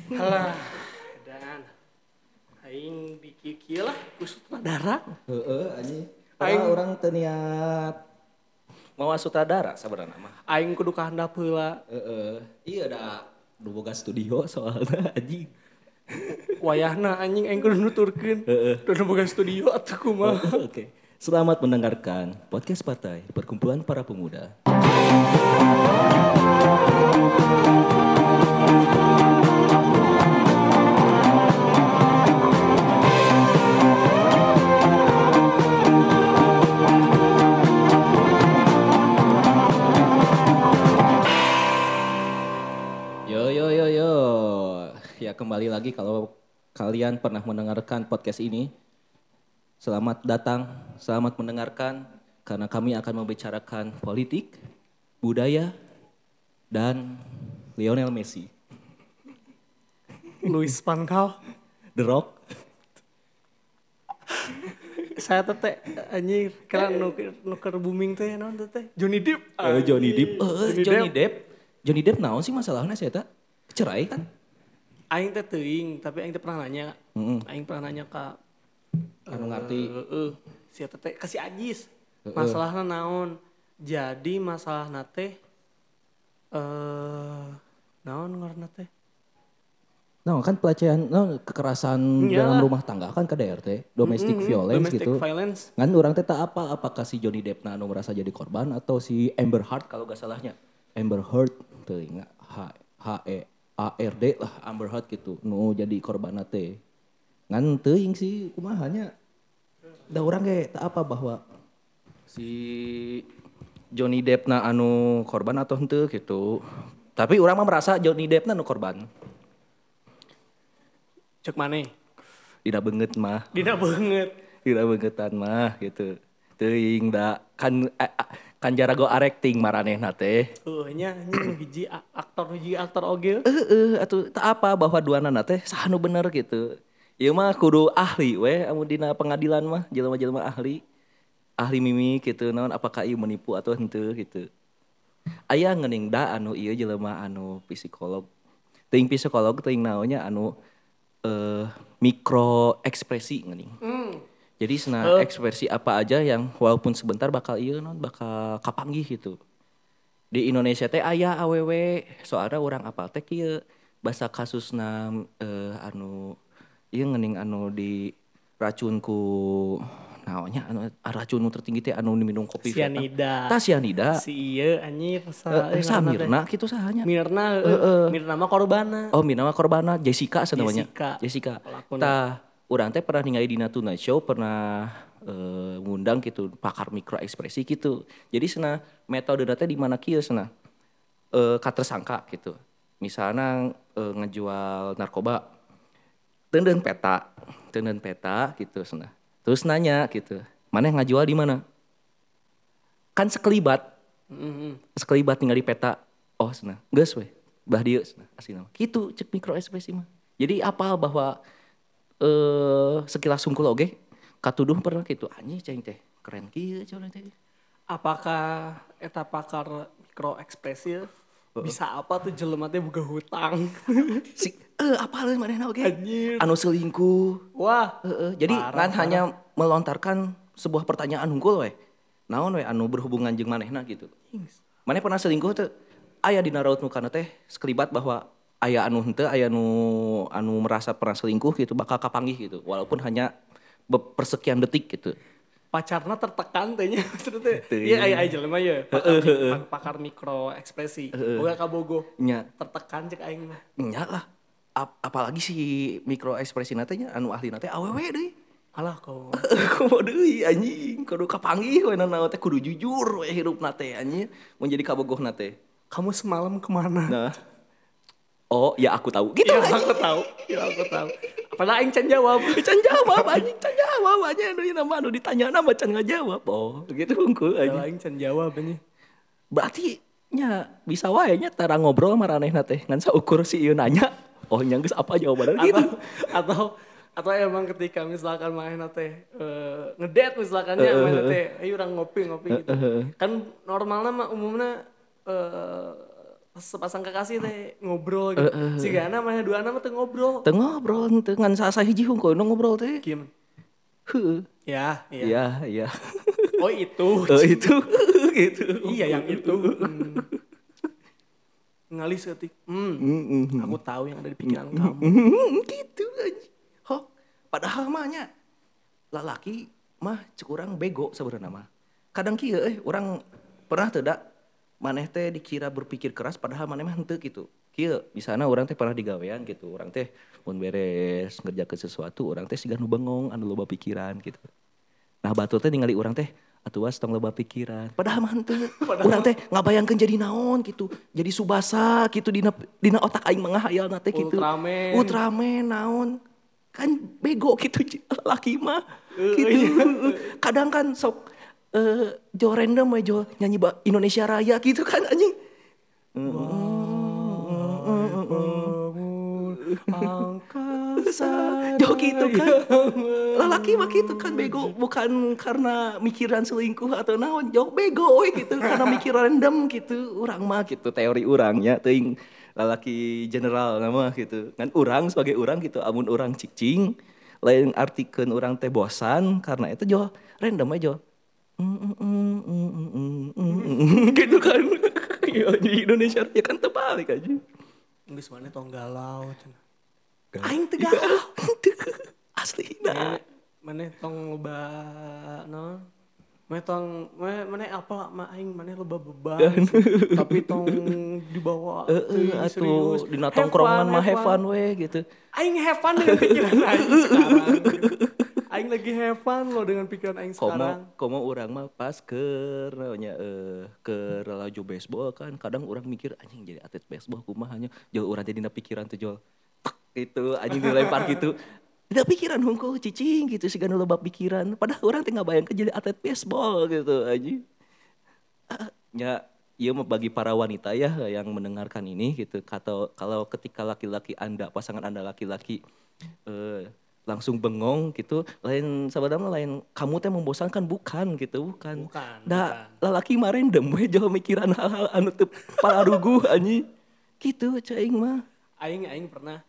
Halah, dan aing di kieu lah ku sutradara. Heeh, anjing. Padahal Aing orang teu niat mau sutradara sebenarnya mah. aing kudu kahandap heula. Heeh. Iya da boga studio soalnya anjing. Wayahna anjing aing kudu nuturkeun. Kudu boga studio atuh kumaha. Oke. Selamat mendengarkan podcast Partai Perkumpulan Para Pemuda. Yo yo yo yo. Ya kembali lagi kalau kalian pernah mendengarkan podcast ini. Selamat datang, selamat mendengarkan karena kami akan membicarakan politik, budaya, dan Lionel Messi. Luis Van Gaal. The Rock. Saya teh anjing kira nuker booming teh naon teh? Johnny Depp. Johnny Depp. Johnny Depp. Johnny Depp naon sih masalahnya saya tak? Cerai kan? Aing teh teuing, tapi aing teh pernah nanya. Aing pernah nanya ka Anu ngarti. Si eta teh kasih Ajis. Masalahna naon? Jadi masalahna teh naon ngaranna teh? Nah kan pelecehan, kekerasan Iyalah. dalam rumah tangga kan KDRT, domestic violence Domestic gitu. violence. Kan orang teh tak apakah si Johnny Depp anu merasa jadi korban atau si Amber Heard kalau gak salahnya. Amber Heard teu ingat HEARD lah Amber Heard gitu. Nu jadi korban teh. Ngan teuing sih kumahanya. Da urang ge tak apa bahwa si Johnny Depp na anu korban atau henteu gitu. Tapi orang mah merasa Johnny Depp na anu korban. Cek maneh. Tidak banget mah. Dina banget. Tidak bangetan mah gitu. Teuing da kan jarago acting maranehna teh. Nya anjing hiji aktor oge. Atuh tak apa bahwa duana teh sahanu bener gitu. Ieu mah kudu ahli we amun dina pengadilan mah jelema-jelema ahli. Ahli mimik gitu naon apakah ieu menipu atau henteu gitu. Aya ngeuning da anu ieu jelema anu psikolog. Teuing psikolog teuing naonnya anu mikro ekspresi ngeuning. Jadi ekspresi apa aja yang walaupun sebentar bakal bakal kapanggih gitu. Di Indonesia teh aya awewe soalnya orang apal teh kieu basa kasusna anu ieu ngeuning anu di racun ku naonnya anu racun nu tertinggi teh anu diminum kopi Cyanida. Tah cyanida. Si ieu anjir Samirna kitu sahanya. Mirna Mirna mah korbana. Oh, mina mah korbana Jessica namanya. Jessica. Tah, urang teh pernah ningali di Tonight Show pernah ngundang gitu pakar mikro ekspresi gitu. Jadi cenah metode teh di mana kieu cenah ka tersangka gitu. Misalnya ngejual narkoba teuneun peta gitu cenah. Terus nanya gitu, "Maneh ngajual di mana?" Kan sekelibat. Sekelibat tinggal di peta. Oh, cenah. Geus we. Bah dieu cenah asina. Kitu cek mikro ekspresi mah. Jadi apal bahwa sekilas sungkul oge katuduh pernah gitu anjing cing teh keren kieu cenah teh. Apakah eta pakar mikro ekspresi bisa apa tuh jelema teh boga hutang? Apal manehna oge? Anjir. Anu selingkuh. Wah. Jadi Parah. hanya melontarkan sebuah pertanyaan unggul we. Naon we anu berhubungan jeung manehna gitu. Maneh pernah selingkuh teu? Aya dina raut mukana teh sekelibat bahwa aya anu henteu, aya anu merasa pernah selingkuh gitu bakal kapanggih gitu. Walaupun hanya persekian detik gitu. Pacarna tertekan teh nya maksudnya teh. Teu. Iya aya jelema ye pakar mikro ekspresi. Boga kabogoh. Nya. Tertekan cek aing mah. Nya lah. Apalagi si mikro ekspresi teh nya anu ahli teh awewe deui. Alah kau. Kumaha deui anjing, kudu kapanggih we naon teh kudu jujur we hirupna teh anjing, mun jadi kabogohna teh. Kamu semalam kemana? Nah. Oh, ya aku tahu. Gitu Ya anjing. aku tahu. Padahal aing can jawab. Can jawab anjing anu nama anu ditanya nama can ngajawab. Oh, gitu unggul Padahal anjing. aing can jawab anjing. Berarti nya bisa wae nya tara ngobrol maranehna teh ngan saukur si ieu nanya. Oh, nya geus apa jawabanna gitu. Atau emang ketika misalkan manehna teh ngedate misalkan ya manehna teh ayo urang ngopi gitu. Kan normalna mah umumna pas sepasang kekasih teh ngobrol gitu. Sigana mana dua nama teh ngobrol. Teu ngobrol teu ngan saha hiji hungkul nu ngobrol teh. Gimana? Heueuh. Ya, iya. Iya, iya. Oh itu. Itu gitu. Iya yang itu. Ngalis ketik. Aku tahu yang ada di pikiran kamu. Gitu aja. Hok, padahal mah nya lalaki mah cek urang bego sebenarnya mah. Kadang kieu urang pernah teu da maneh teh dikira berpikir keras padahal maneh mah henteu gitu. Kieu misalna urang teh pernah digawean gitu. Urang teh mun beres ngerjakeun sesuatu urang teh siga nu bengong anu loba pikiran gitu. Nah batur teh ningali urang teh atuh was tong loba pikiran. Padahal mah henteu. Urang teh ngabayangkeun jadi naon gitu. Jadi Subasa gitu dina otak aing mah ngahayalna teh gitu. Ultraman. Ultraman naon. Kan bego gitu laki mah. Gitu. Kadang kan sok jo random we jo nyanyi Indonesia Raya gitu kan anjing. Angkasa jo gitu kan. Lelaki mah gitu kan bego bukan karena mikiran selingkuh atau naon jauh bego we gitu karena mikir random gitu urang mah gitu teori urangnya teuing lalaki general nama gitu kan urang sebagai urang gitu amun urang cicing lain artikeun urang teh bosan karena itu jo random aja gitu kan ya di Indonesia ya kan terbalik aja Geus maneh tong galau cenah. aing teu galau aslina Maneh tong loba naon? Maneh apa mah aing maneh loba beban. Tapi tong dibawa teuing serius. atuh dina tongkrongan mah have fun we gitu. Aing have fun dengan pikiran aing sekarang. Aing lagi have fun loh dengan pikiran aing sekarang. Komo urang mah pas keur nya keur laju baseball kan kadang urang mikir anjing jadi atlet baseball kumaha nya jauh urang jadi pikiran tuh jol. Gitu anjing dilempar gitu. Tidak pikiran hungkul cicing gitu sih loba loba pikiran padahal urang teh ngabayangkeun jadi atlet baseball gitu anjing. Ya iya mah bagi para wanita ya yang mendengarkan ini gitu kalau ketika laki-laki Anda pasangan Anda laki-laki langsung bengong gitu lain sebenarnya lain kamu teh membosankan bukan gitu bukan da lalaki mah random we jauh mikiran hal-hal anu teu palaruguh anjing gitu ceuing mah Aing pernah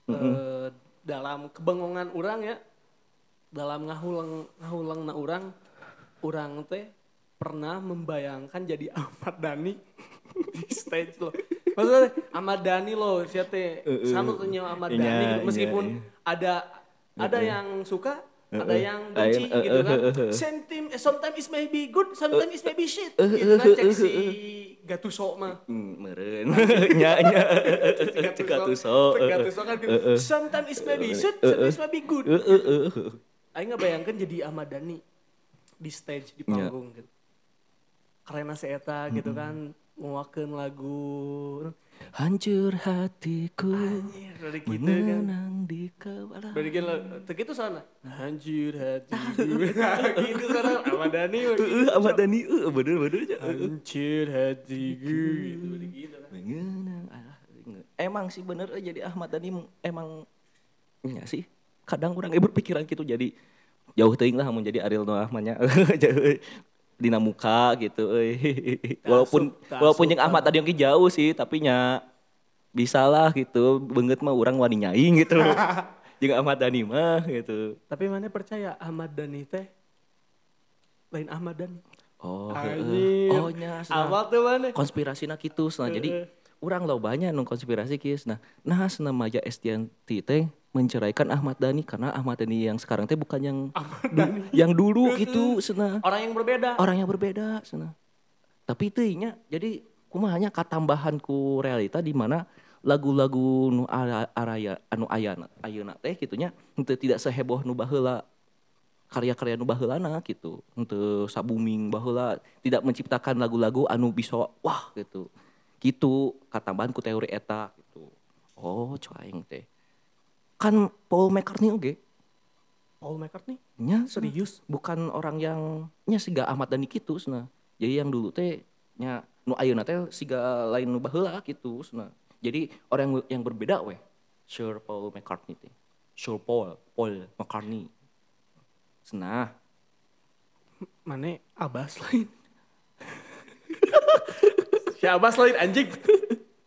dalam kebengongan orang ya dalam ngahulang na orang teh pernah membayangkan jadi Ahmad Dhani di stage loh. Maksudnya Ahmad Dhani loh, siapa teh sanu tanya Ahmad Dhani meskipun ada yang suka, ada yang benci gitu kan. Sometimes it may be good, sometimes it may be shit. Gitu kan cek si Gattuso mah. Meureun. Nya. Cek Gattuso. Kan gitu. Sometimes it may be shit, sometimes it may be good. Aing ngebayangkeun jadi Ahmad Dhani di stage di panggung gitu. Karena si eta gitu kan nguakeun lagu Hancur hatiku dari gitu mengenang di kepala. Dari gitu sana. Hancur hatiku. Gitu sana Ahmad Dhani. Ahmad Dhani bener aja. Hancur hatiku. Gitu kan. Mengenang. Emang sih bener jadi Ahmad Dhani emang ya sih. Kadang orang berpikiran gitu jadi jauh teuing lah mun jadi Ariel Noah mah nya. Dina muka gitu walaupun yang Ahmad tadi yang jauh sih tapi nya bisa lah gitu banget mah orang wani nyaing gitu jeung Ahmad Dhani mah gitu tapi mana percaya Ahmad Dhani teh lain Ahmad Dhani nya awal tuh mana konspirasina kitu jadi urang lo banyak nung konspirasi kieu nah Maja Estianty teh menceraikan Ahmad Dhani karena Ahmad Dhani yang sekarang teh bukan yang dulu gitu cenah. Orang yang berbeda cenah. Tapi teh nya jadi kumahanya katambahan ku realita di mana lagu-lagu nu araya anu ayeuna teh kitu nya henteu tidak seheboh nu baheula karya-karya nu baheulana gitu. Henteu sabuming baheula tidak menciptakan lagu-lagu anu bisa wah gitu. Gitu katambahan ku teori eta gitu. Oh, coaing teh. Kan Paul McCartney oge. Paul McCartney? Nya serius bukan orang yang nya siga Ahmad Dhani kitu cenah. Jadi yang dulu teh nya nu ayeuna teh siga lain nu baheula kitu cenah. Jadi orang yang berbeda we. Sir Paul McCartney teh. Sir Paul McCartney. Cenah. Mane Abbas lain. Si Abbas lain anjing.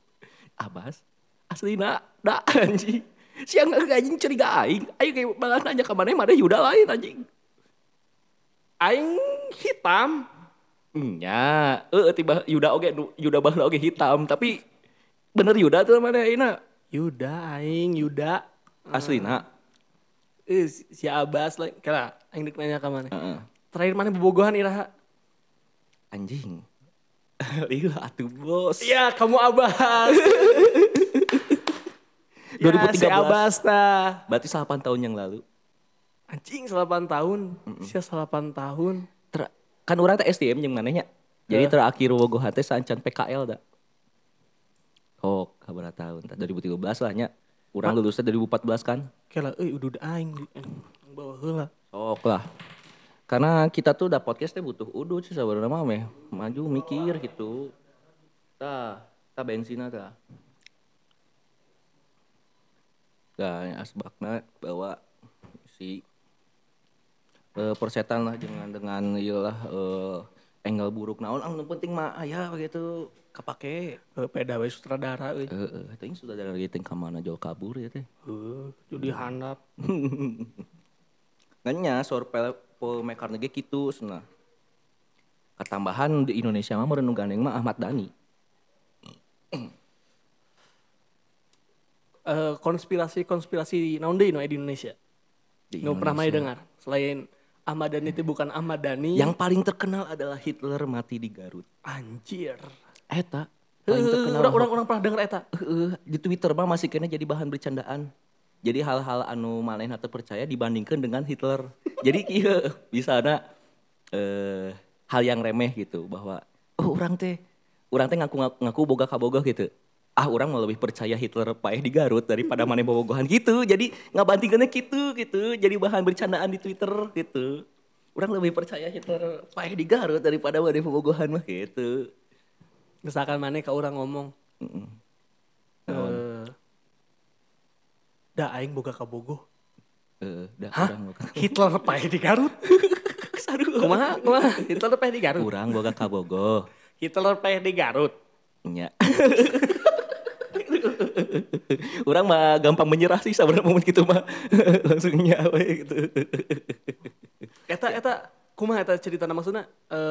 Abas aslina da anjing. Siang anjing curiga aing kayak malah nanya ke mana Yuda lain anjing. Aing hitam. Nya, tiba Yuda oge Yuda baheula oge hitam, tapi bener Yuda tuh mana ayeuna? Yuda. Aslina. Si Abbas lah. Kira aing dek nanya ka mana? Heeh. Terakhir mana bobogohan iraha? Anjing. Lila atuh bos. Iya, kamu Abbas. 2013. Ya, si Abbas tah. Berarti 8 tahun yang lalu. Anjing 8 tahun. Sia 8 tahun. Kan urang teh STM jeung manehnya. Jadi terakhir bobogohan teh sancan PKL da. Oh, kabar tahun tah 2013 lah nya. Urang lulusnya 2014 kan. Kela udah aing bawa heula. Sok lah. Karena kita tuh udah podcast teh butuh udut sih sabarna mah meh. Maju mikir gitu. Tah bensina tah. Tah asbakna bawa si persetan lah dengan iyalah angle buruk naon anu penting mah aya begitu kapake Peda we sutradara euy. teuing sutradara gitu ka mana jauh kabur ya teh. Judi handap. Nganya sorpel filmmaker ge kitu cenah. Katambahan di Indonesia mah meureun nu gandeng mah Ahmad Dhani. Konspirasi naon deui di Indonesia? Di Nggak pernah Indonesia. dengar. Selain Ahmad Dhani itu bukan Ahmad Dhani. Yang paling terkenal adalah Hitler mati di Garut. Anjir. Eta paling terkenal. Orang pernah denger eta. Di Twitter mah masih kena jadi bahan bercandaan. Jadi hal-hal anu manehna teu percaya dibandingkan dengan Hitler. Jadi kieu bisana hal yang remeh gitu bahwa urang teh ngaku boga kabogoh gitu. Urang mau lebih percaya Hitler paeh di Garut daripada maneh bobogohan gitu. Jadi ngabandingkeunna gitu. Jadi bahan bercandaan di Twitter gitu. Urang lebih percaya Hitler paeh di Garut daripada maneh bobogohan mah gitu. Misalkan maneh ka urang ngomong. Da aing boga kabogoh. Urang boga. Hitler paeh di Garut. Kumaha? Hitler paeh di Garut. Urang boga kabogoh. Hitler paeh di Garut. Nya. Urang mah gampang menyerah sih sabarna momen gitu mah. Langsung nyawe gitu. Eta kumaha eta ceritana maksudna?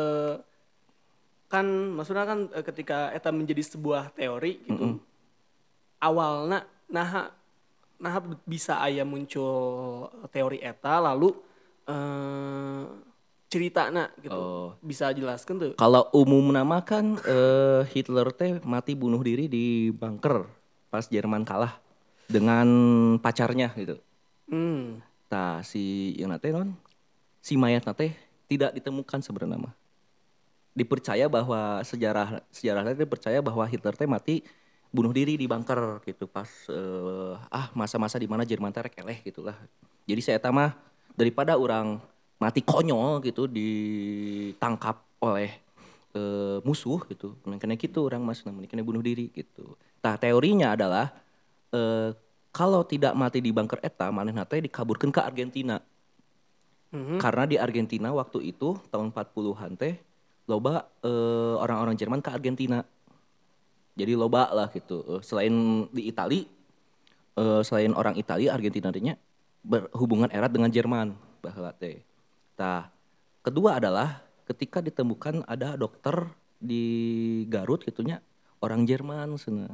Kan maksudnya kan ketika eta menjadi sebuah teori gitu. Awalna nah bisa aya muncul teori eta lalu ceritana gitu. Bisa jelaskan tuh. Kalau umumna mah kan Hitler teh mati bunuh diri di bunker pas Jerman kalah dengan pacarnya gitu. Tah si ieu teh non si mayatna teh tidak ditemukan sebenarnya mah. Dipercaya bahwa sejarahnya dipercaya bahwa Hitler teh mati bunuh diri di bunker gitu pas masa-masa di mana Jerman teh rek eleh gitulah. Jadi saya eta mah daripada orang mati konyol gitu ditangkap oleh musuh gitu. Kena gitu orang mas namanya kena bunuh diri gitu. Tah teorinya adalah kalau tidak mati di bunker eta manehna teh dikaburkeun ke Argentina. Karena di Argentina waktu itu tahun 40-an teh loba orang-orang Jerman ke Argentina. Jadi loba lah gitu. Selain di Itali, selain orang Itali, Argentina nya berhubungan erat dengan Jerman baheula teh. Tah, kedua adalah ketika ditemukan ada dokter di Garut gitunya orang Jerman sana.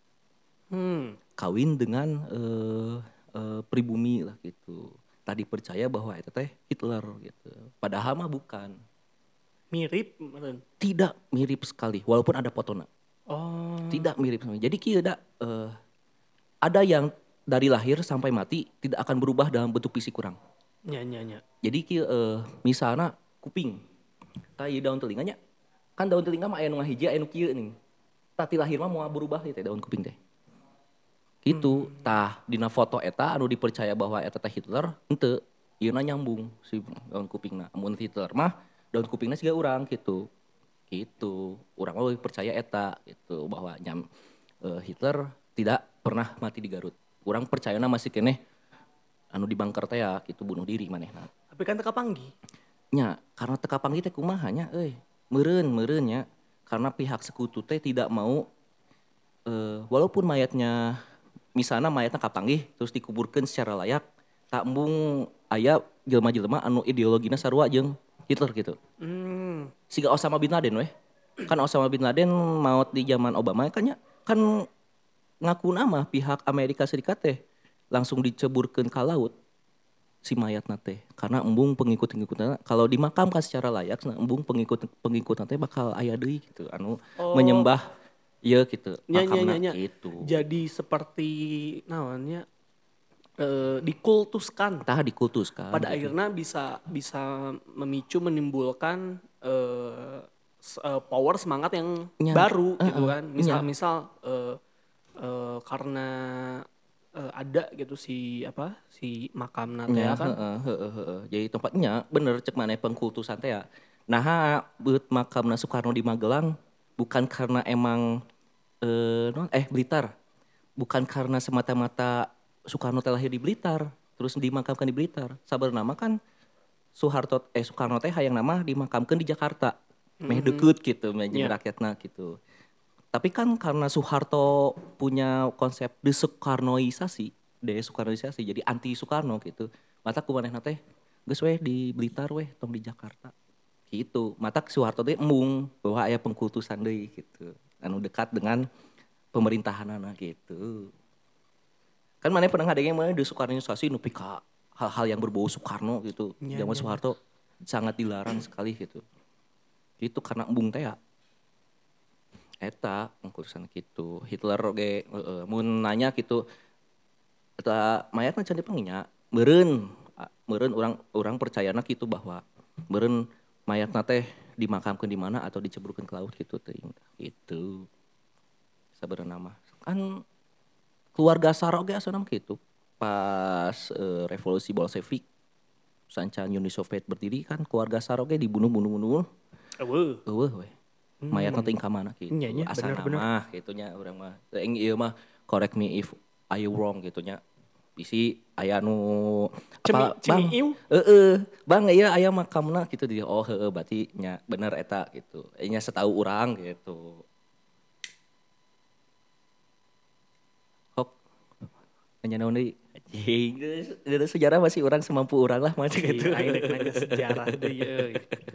Kawin dengan pribumi lah gitu. Tadi percaya bahwa itu teh Hitler gitu. Padahal mah bukan. Mirip Tidak mirip sekali walaupun ada fotona. Tidak mirip. Jadi kieu ada yang dari lahir sampai mati tidak akan berubah dalam bentuk fisik kurang. Nya. Jadi kieu misalna kuping. Tah ieu daun telinganya. Kan daun telinga mah aya nu ngahiji aya nu kieu nih. Tah ti lahir mah moal berubah teh daun kuping teh. Gitu. Tah dina foto eta anu dipercaya bahwa eta teh Hitler henteu. Ieuna nyambung si daun kupingna. Mun Hitler mah daun kupingna siga urang gitu. Gitu. Urang mah percaya eta gitu bahwa Hitler tidak pernah mati di Garut. Urang percayana masih keneh anu di bunker teh ya gitu bunuh diri manehna. Tapi kan teka panggih. Nya, karena teka panggih teh kumaha nya euy. Meureun nya. Karena pihak sekutu teh tidak mau walaupun mayatnya misalnya mayatnya kapanggih terus dikuburkan secara layak tak embung aya jelema-jelema anu ideologina sarua jeung Hitler gitu. Siga Osama bin Laden weh. Kan Osama bin Laden maut di zaman Obama kan ya kan ngaku nama pihak Amerika Serikat teh langsung diceburkeun ka laut si mayat nate karena embung pengikut-pengikutnya kalau dimakamkan secara layak nah, embung pengikut nate bakal aya deui gitu anu menyembah ieu gitu makamna gitu. Jadi seperti namanya dikultuskan. Tah dikultuskan. Pada gitu. akhirnya bisa memicu menimbulkan power semangat yang baru gitu kan. Misal karena ada gitu si makam nate kan. Jadi tempatnya bener cek mana pengkultusan teh ya. Nah, beut makamna Soekarno di Magelang bukan karena emang Blitar. Bukan karena semata-mata Soekarno teh lahir di Blitar, terus dimakamkan di Blitar. Sabeunana kan Soekarno teh hayang nama dimakamkan di Jakarta. Meh deukeut gitu, meh jeung rakyatna gitu. Tapi kan karena Soeharto punya konsep desoekarnoisasi, jadi anti Soekarno gitu. Mata kumanehna teh geus weh di Blitar weh, tong di Jakarta. Gitu. Mata Soeharto teh embung bahwa aya pengkultusan deui gitu. Anu dekat dengan pemerintahanana gitu. Kan maneh pernah ngadenge maneh desoekarnoisasi nepi ka hal-hal yang berbau Soekarno gitu. Zaman Soeharto sangat dilarang sekali gitu. Gitu karena embung teh ya. Eta pengkultusan gitu. Hitler oge mun nanya gitu eta mayatna can dipanggilnya meureun urang percayana gitu bahwa meureun mayatna teh dimakamkeun di mana atau diceburkeun ke laut gitu teuing gitu. Sabenerna mah kan keluarga Tsar oge asana mah kitu. Pas revolusi Bolshevik sancan Uni Soviet berdiri kan keluarga Tsar oge dibunuh. Eueuh we. Mayatna teh ka mana gitu. Asana mah kitunya urang mah. Teuing ieu mah correct me if I wrong gitunya. Bisi aya nu apa Bang? Bang ieu aya makamna gitu dia. Oh heueuh berarti nya bener eta gitu. Nya setahu urang gitu. Hop. Nya naon deui? Anjing, geus sejarah masih urang semampu urang lah mah gitu. Aing rek nanya sejarah deui euy.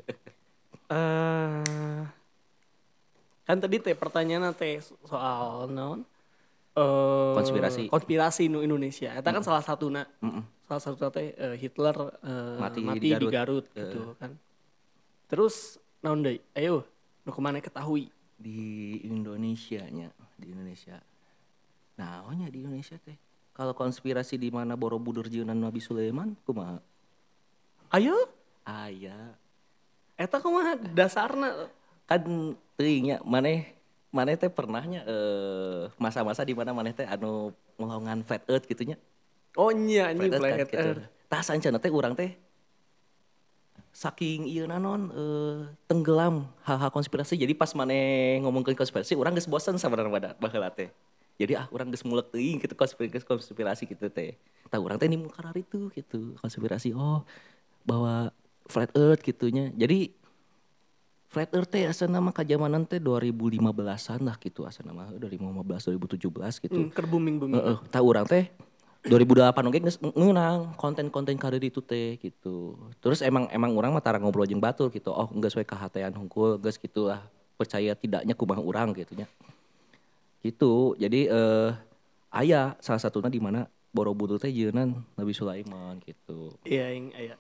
Kan tadi teh pertanyaan teh soal naon? Konspirasi nu Indonesia. Eta kan salah satuna. Salah satu teh Hitler mati di Garut gitu kan. Terus naon deui? Ayo, nu kumaneh ketahui di Indonesia nya, di Indonesia. Naonnya di Indonesia teh? Kalau konspirasi di mana Borobudur jeung Nabi Sulaiman kumaha? Ayo? Aya. Eta kumaha dasarna? Kan teuing nya maneh teh pernahnya masa-masa di mana maneh teh anu ngelongan flat earth gitu nya. Oh nya anjing flat earth. Gitu. Tah sancana teh urang teh saking ieu nanon tenggelam hal-hal konspirasi jadi pas maneh ngomongkeun konspirasi urang geus bosen sabenerna baheula teh. Jadi urang geus mulek teuing gitu konspirasi gitu teh. Tah urang teh nimu karar itu gitu konspirasi bahwa flat earth gitunya. Jadi flat earth teh asana mah ka jamanan teh 2015-an lah gitu asana mah 2015 2017 gitu. Keur booming. Tah urang teh 2008 oge geus ngeunang konten-konten karir itu teh gitu. Terus emang urang mah tara ngobrol jeung batur gitu. Oh geus we kahatean hungkul geus gitulah. Percaya tidaknya kumaha urang gitu nya. Gitu. Jadi aya salah satuna di mana Borobudur teh jeunan Nabi Sulaiman gitu. Iya aya.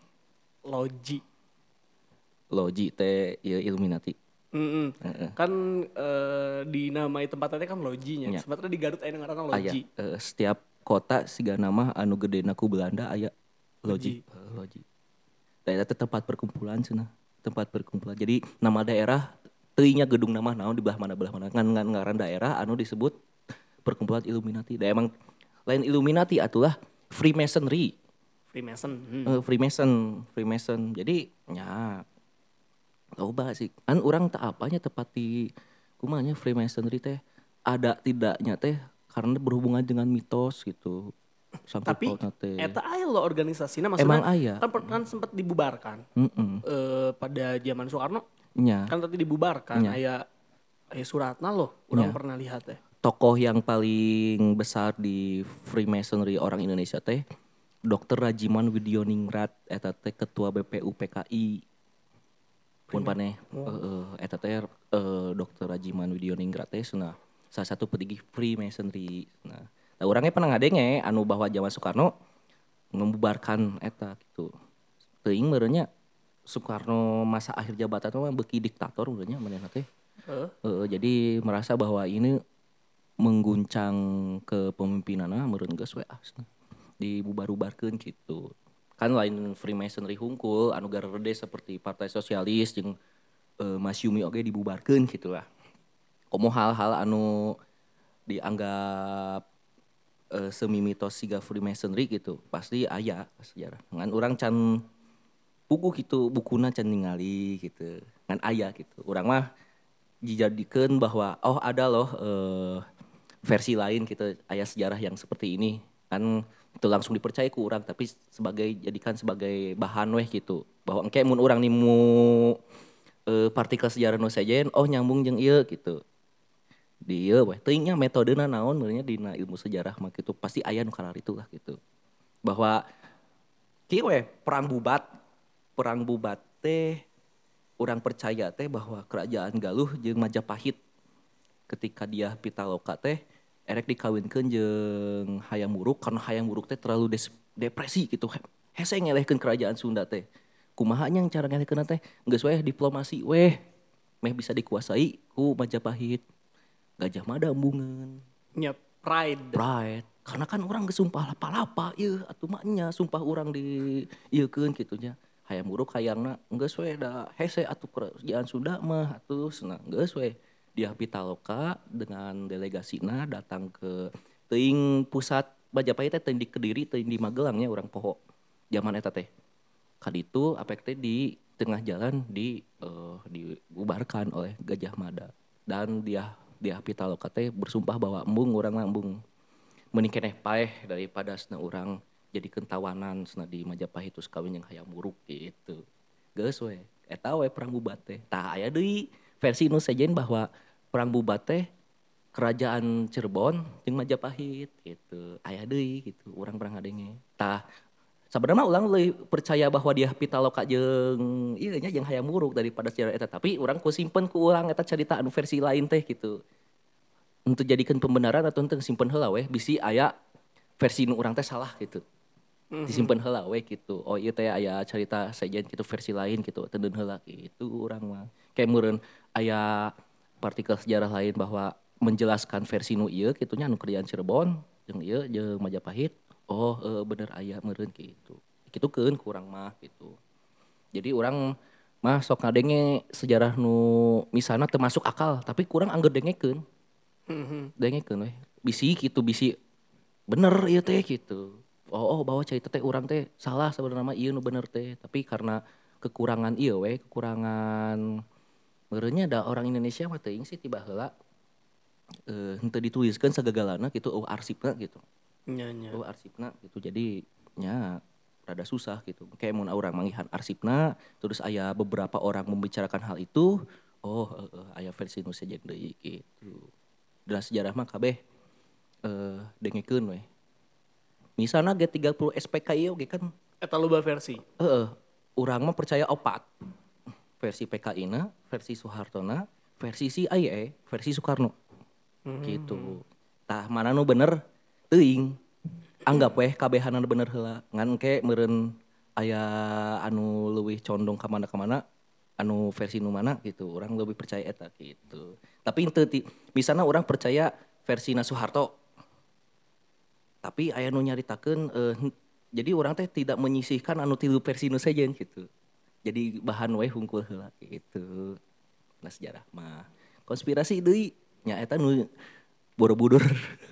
Logi teh ya Illuminati. Kan dinamai tempatnya kan Loginya. Ya. Sebenarnya di Garut aya ngaranna Logi. Setiap kota siga nama anu gedena ku Belanda aya Logi. Da eta tempat perkumpulan cenah. Tempat perkumpulan. Jadi nama daerah teuingnya gedung nama naon di belah mana ngan ngaran daerah anu disebut perkumpulan Illuminati. Da emang lain Illuminati atulah Freemasonry. Freemason. Jadi nya loba sih. Kan urang tak apanya tepat di kumanya Freemasonry teh ada tidaknya teh karena berhubungan dengan mitos gitu. Tapi eta aya lo organisasinya maksudnya emang aya. Kan sempat dibubarkan. Pada zaman Soekarno. Nya. Kan tadi dibubarkan aya suratna loh. Urang pernah lihat teh. tokoh yang paling besar di Freemasonry orang Indonesia teh Dr. Rajiman Widioningrat eta teh ketua BPU PKI. Pun paneh eta teh Dr. Rajiman Widioningrat teh cenah salah satu petinggi Freemasonry. Nah, urangnya pernah ngadenge anu bahwa zaman Soekarno membubarkan eta gitu. Teuing meureunnya Soekarno masa akhir jabatan mah beuki diktator meureunnya manehna teh. Jadi merasa bahwa ini mengguncang kepemimpinanna meureun geus we asna dibubar-bubarkeun gitu. Kan lain Freemasonry hungkul anu garerde seperti Partai Sosialis jeung Masyumi oge dibubarkeun gitu lah. Komo hal-hal anu dianggap semi mitos siga Freemasonry gitu pasti aya sejarah. Ngan urang can puguh gitu bukuna can ningali gitu. Ngan aya gitu. Urang mah dijadikan bahwa oh ada loh versi lain gitu aya sejarah yang seperti ini kan itu langsung dipercaya ku orang tapi jadikan sebagai bahan weh gitu bahwa engke mun urang nimu partikel sejarah nu sajen oh nyambung jeung ieu gitu di ieu weh teuing nya metodena naon meureunnya dina ilmu sejarah mah gitu pasti aya nu kalar itulah gitu bahwa kieu weh perang bubat teh urang percaya teh bahwa kerajaan Galuh jeung Majapahit ketika dia Pitaloka teh erek dikawinkeun jeung Hayam Wuruk karena Hayam Wuruk teh terlalu depresi gitu hese ngelehkeun kerajaan Sunda teh kumaha nya cara ngelehkeunna teh geus weh diplomasi weh meh bisa dikuasai ku Majapahit Gajah Mada embungeun nya pride karena kan orang geus sumpah lapa-lapa ieu atuh mah nya sumpah urang di ieukeun kitu nya Hayam Wuruk hayangna geus we da hese atuh kerajaan Sunda mah atuh cenah geus we dia Pitaloka dengan delegasinya datang ke teuing pusat Majapahit teh teuing di Kediri teuing di Magelangnya orang poho zaman eta teh kaditu apek teh di tengah jalan dibubarkan oleh Gajah Mada dan dia Pitaloka teh bersumpah bahwa embung urang embung meuning keneh paeh daripada cenah urang jadi kentawanan cenah di Majapahit terus kawin jeung Hayam Wuruk gitu geus we eta we perang bubat teh tah aya deui versi nu sejen bahwa perang bubat teh kerajaan Cirebon jeung Majapahit gitu. Aya deui gitu urang pernah ngadenge. Tah sebenarnya ulang leuwih percaya bahwa dia Pitaloka jeung ieu nya jeung Hayam Wuruk daripada sejarah eta tapi urang ku simpen ku urang eta cerita anu versi lain teh gitu. Untuk jadikan pembenaran atau untuk simpen heula weh bisi aya versi nu urang teh salah gitu. Disimpan heula we gitu. Oh ieu teh aya cerita sejen gitu versi lain gitu. Teudeun heula gitu urang mah. Kayak meureun aya partikel sejarah lain bahwa menjelaskan versi nu ieu kitu nya anu kerajaan Cirebon jeung ieu jeung Majapahit. Oh bener aya meureun gitu. Kitukeun ku urang mah gitu. Jadi urang mah sok ngadenge sejarah nu misalna teu masuk akal tapi kurang angger dengekeun. Dengekeun we. Bisi gitu bisi bener ieu teh gitu. Oh bahwa cerita teh urang teh salah sebenarnya mah ieu nu bener teh tapi karena kekurangan ieu we kekurangan meureunnya da orang Indonesia mah teuing sih tiba heula henteu dituliskeun sagagalana gitu arsipna gitu nya arsipna gitu jadi nya rada susah gitu kayak mun urang manggihan arsipna terus aya beberapa orang membicarakan hal itu aya versi nu sejen deui gitu dan sejarah mah kabeh dengekeun we misalnya G30 SPKI oke kan eta loba versi. urang mah percaya opat versi PKI-na, versi Soehartona, versi CIA, versi Soekarno. Gitu. Tah mana nu bener teuing. Anggap weh kabehana bener heula. Ngan ke meureun aya anu leuwih condong ka mana anu versi nu mana gitu. Urang lebih percaya eta gitu. Tapi teu misalna urang percaya versina Soeharto. Tapi aya nu nyaritakeun jadi orang teh tidak menyisihkan anu tilu versi nu sejen gitu. Jadi bahan we hungkul heula gitu. Nah sejarah mah konspirasi deui nya eta nu Borobudur.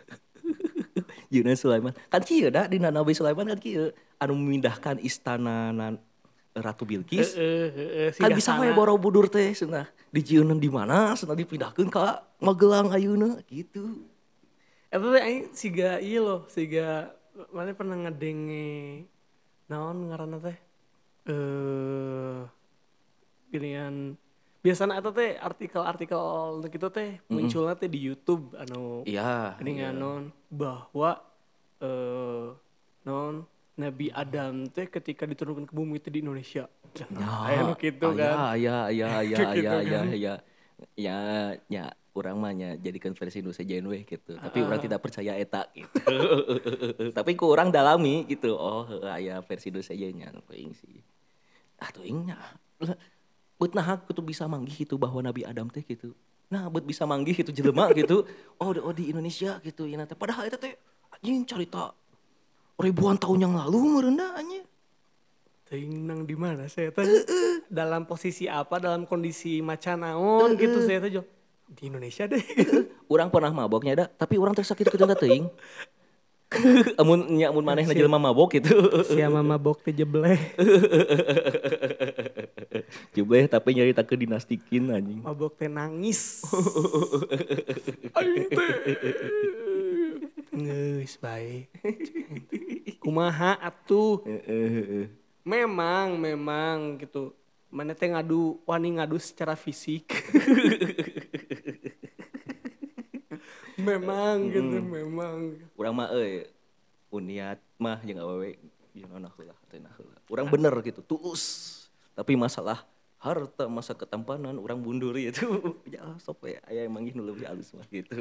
Yeuna Sulaiman. Kan kieu da dina Nabi Sulaiman kan kieu anu memindahkan istana Ratu Bilqis. Kan bisa we Borobudur teh cenah dijieun di mana cenah dipindahkeun ka Magelang ayeuna gitu. Tapi aing siga ieu loh, siga mana pernah ngedenge naon ngaranna teh? Ginian biasanya eta teh artikel-artikel gitu teh munculnya teh di YouTube Iya. non bahwa non Nabi Adam teh ketika diturunkan ke bumi itu di Indonesia. Aya nu kitu kan. Iya. Gitu kan. Ya, urang mah nya jadikan versi nu sejen we gitu. Tapi urang tidak percaya eta gitu. Tapi ku urang dalami gitu. Oh, aya versi nu sejennya teuing sih. Teuing nya. Beut naha kudu bisa manggih gitu bahwa Nabi Adam teh gitu. Nah, beut bisa manggih gitu jelema gitu. Oh, di Indonesia gitu ya teh. Padahal eta teh anjing carita ribuan tahun yang lalu meureunna anjing. Teuing nang di mana saya teh? Dalam posisi apa? Dalam kondisi macan naon gitu saya teh di Indonesia deh. Urang pernah maboknya da, tapi urang teh sakit kedeuna teuing. Amun manehna jelema mabok gitu. Sia mabok teh jebleh. Jebleh tapi nyaritakeun dinastikin anjing. Mabok teh nangis. Aing teh. Geus bae. Kumaha atuh? Memang gitu. Mana teh wani ngadu secara fisik. Memang gitu, memang. Urang mah uniat mah jeung awewe gimana heula hatena heula. Urang bener gitu, tulus. Tapi masalah harta masa ketampanan urang mundur itu. Ya sok we aya emang nu leuwih alus mah gitu.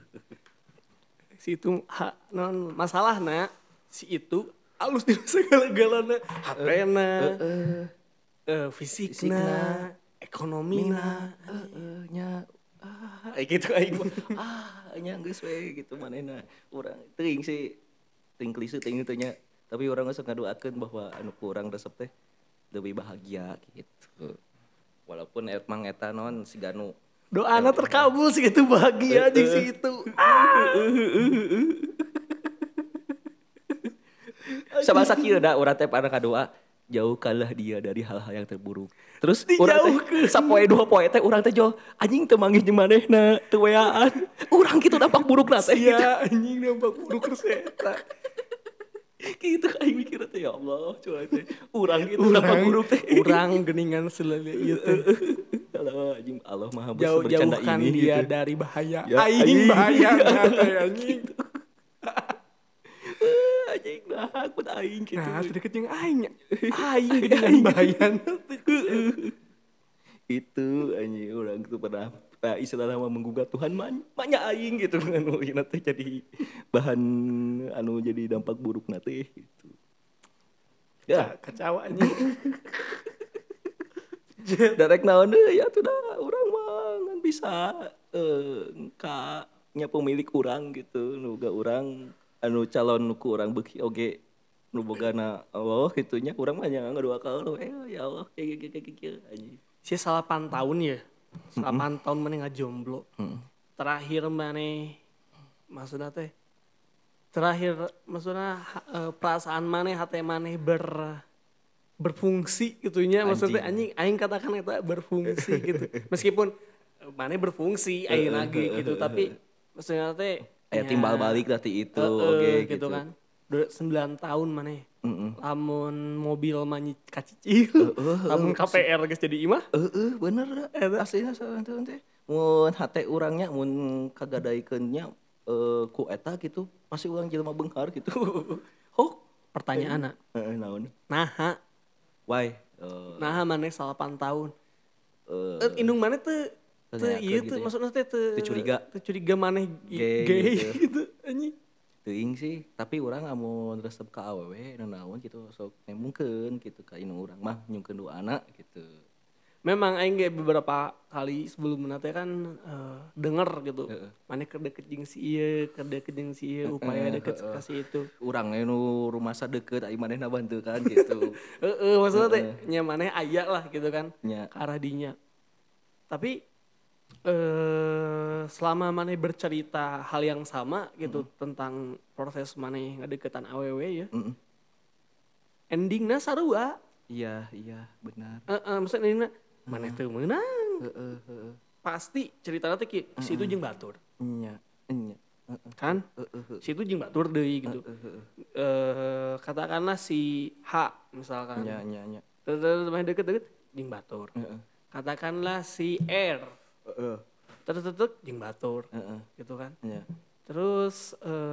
Si itu non masalahna si itu alus di segala-galana, hatena, fisikna, ekonomina, Nya gitu aing mah nya geus we gitu manehna. Urang teuing sih teuing klise teuing teh nya. Tapi urang geus ngadoakeun bahwa anu ku urang resep teh lebih bahagia gitu. Walaupun emang eta non siga nu doana terkabul sih itu bahagia di situ. Sabasa kieu da urang teh pernah kadoa jauhkanlah dia dari hal-hal yang terburuk. Terus urang teh sapoe dua poe teh urang teh jol anjing teu manggih jeung manehna teu weaan. Urang kitu dampak burukna teh. Ya anjing dampak buruk eta. Gitu aing mikir teh ya Allah coba teh urang kitu dampak buruk teh. Urang geuningan selele ieu teh. Allah anjing Allah Maha bercanda Jauhkan ini dia gitu. dari bahaya. Ya, Aing bahaya anjing. Anjing nah aku aing gitu. Nah, deket jeung aing. Aing dengan bahaya. Itu anjing orang itu pernah istilahnya menggugat Tuhan banyak aing gitu anu teh jadi bahan anu jadi dampak buruk teh gitu. Ya, Kacau anjing. Darek naon deui ya tuh dah urang mah ngan bisa nya pemilik urang gitu nu boga urang anu calon ku urang beuki oge nu bogana Allah kitu nya urang mah nya ngadoakeun ya Allah kieu anjing. Si 8 tahun ya. 8 tahun maneh ngajomblo. Terakhir maneh maksudna teh perasaan maneh hate maneh berfungsi gitunya maksudnya anjing aing katakan eta berfungsi gitu. Meskipun maneh berfungsi ayeuna ge gitu tapi maksudnya teh aya timbal balik tadi itu oge gitu kan. 9 tahun maneh. Lamun mobil mah kacicil. Lamun KPR geus jadi imah. Bener da. Aslinya saeunteu teh. Mun hate urangnya mun kagadaikeun nya ku eta gitu pasti urang jelema beunghar gitu. Hok Pertanyaanna. Naon? Naha. Why? Naha maneh 8 tahun. Indung maneh teu ieu teu maksudna teh teu curiga maneh gay gitu anjing. Teuing sih, tapi urang amun resep ka awewe nu naon gitu sok nemungkeun gitu ka indung urang mah nyungkeun doana gitu. Memang aing ge beberapa kali sebelumna teh kan denger gitu. Maneh keur deket jeung si ieu, upaya deket ka si itu. Urang nu rumasa deket ai manehna bantu kan gitu. Maksudna teh nya maneh aya lah gitu kan Nya. ka arah dinya. Tapi selama maneh bercerita hal yang sama gitu tentang proses maneh ngadeukeutan awewe ya. Endingna sarua. Iya, benar. Maksudnya endingna maneh teu meunang. Pasti ceritanya teh situ jeung batur. Nya. Kan? Situ jeung batur deui gitu. Katakanlah si H misalkan. Nya. Terus maneh deket-deket jeung batur. katakanlah si R Heeh. tetek jeung batur Heeh. gitu kan. Iya. Terus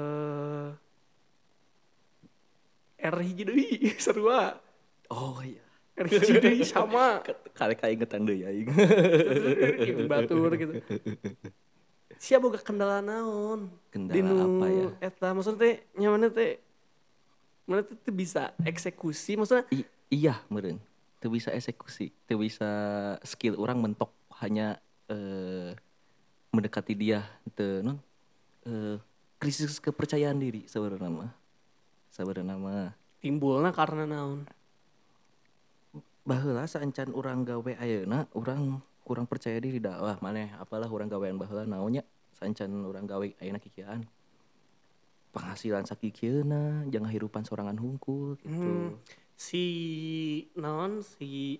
R hiji deui sarua. Oh iya. R hiji deui sama Karek kaingetan deui aing. jeung batur gitu. Sia boga kendala naon? Kendala apa ya? Eta maksudnya teh nya mana teh teu bisa eksekusi maksudnya Iya meureun. Teu bisa eksekusi, teu bisa skill orang mentok hanya mendekati dia teu non krisis kepercayaan diri sebenarnya mah. Sebenarnya mah timbulna karena naon? baheula saencan urang gawe ayeuna urang kurang percaya diri da wah maneh apalah urang gawean baheula naonnya saencan urang gawe ayeuna kikieuan penghasilan sakikieuna jeung ngahirupan sorangan hungkul gitu. Si naon si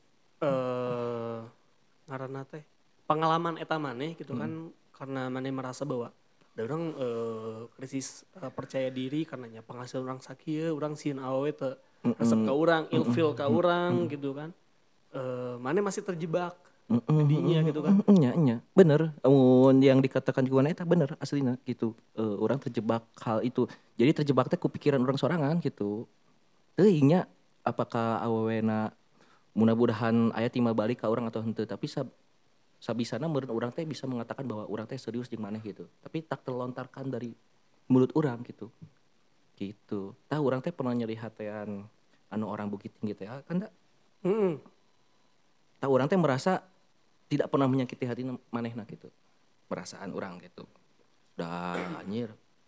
ngaranna teh pengalaman eta maneh gitu kan karena maneh merasa bahwa ada orang krisis percaya diri karenanya penghasilan orang sakieu urang sieun awewe teu resep ka urang ilfil ka urang gitu kan maneh masih terjebak didinya gitu kan. Nya bener mun yang dikatakan juga eta bener aslina gitu. Orang terjebak hal itu jadi terjebak teh ku pikiran orang sorangan gitu teuing nya apakah awewena mudah-mudahan aya timbal balik ka urang atau henteu tapi sabisana meureun urang teh bisa mengatakan bahwa urang teh serius jeung maneh gitu tapi tak terlontarkan dari mulut urang gitu tah urang teh pernah nyeri hatean anu orang Bukit Tinggi teh kan da tah urang teh merasa tidak pernah menyakiti hati manehna gitu perasaan urang gitu dah anjir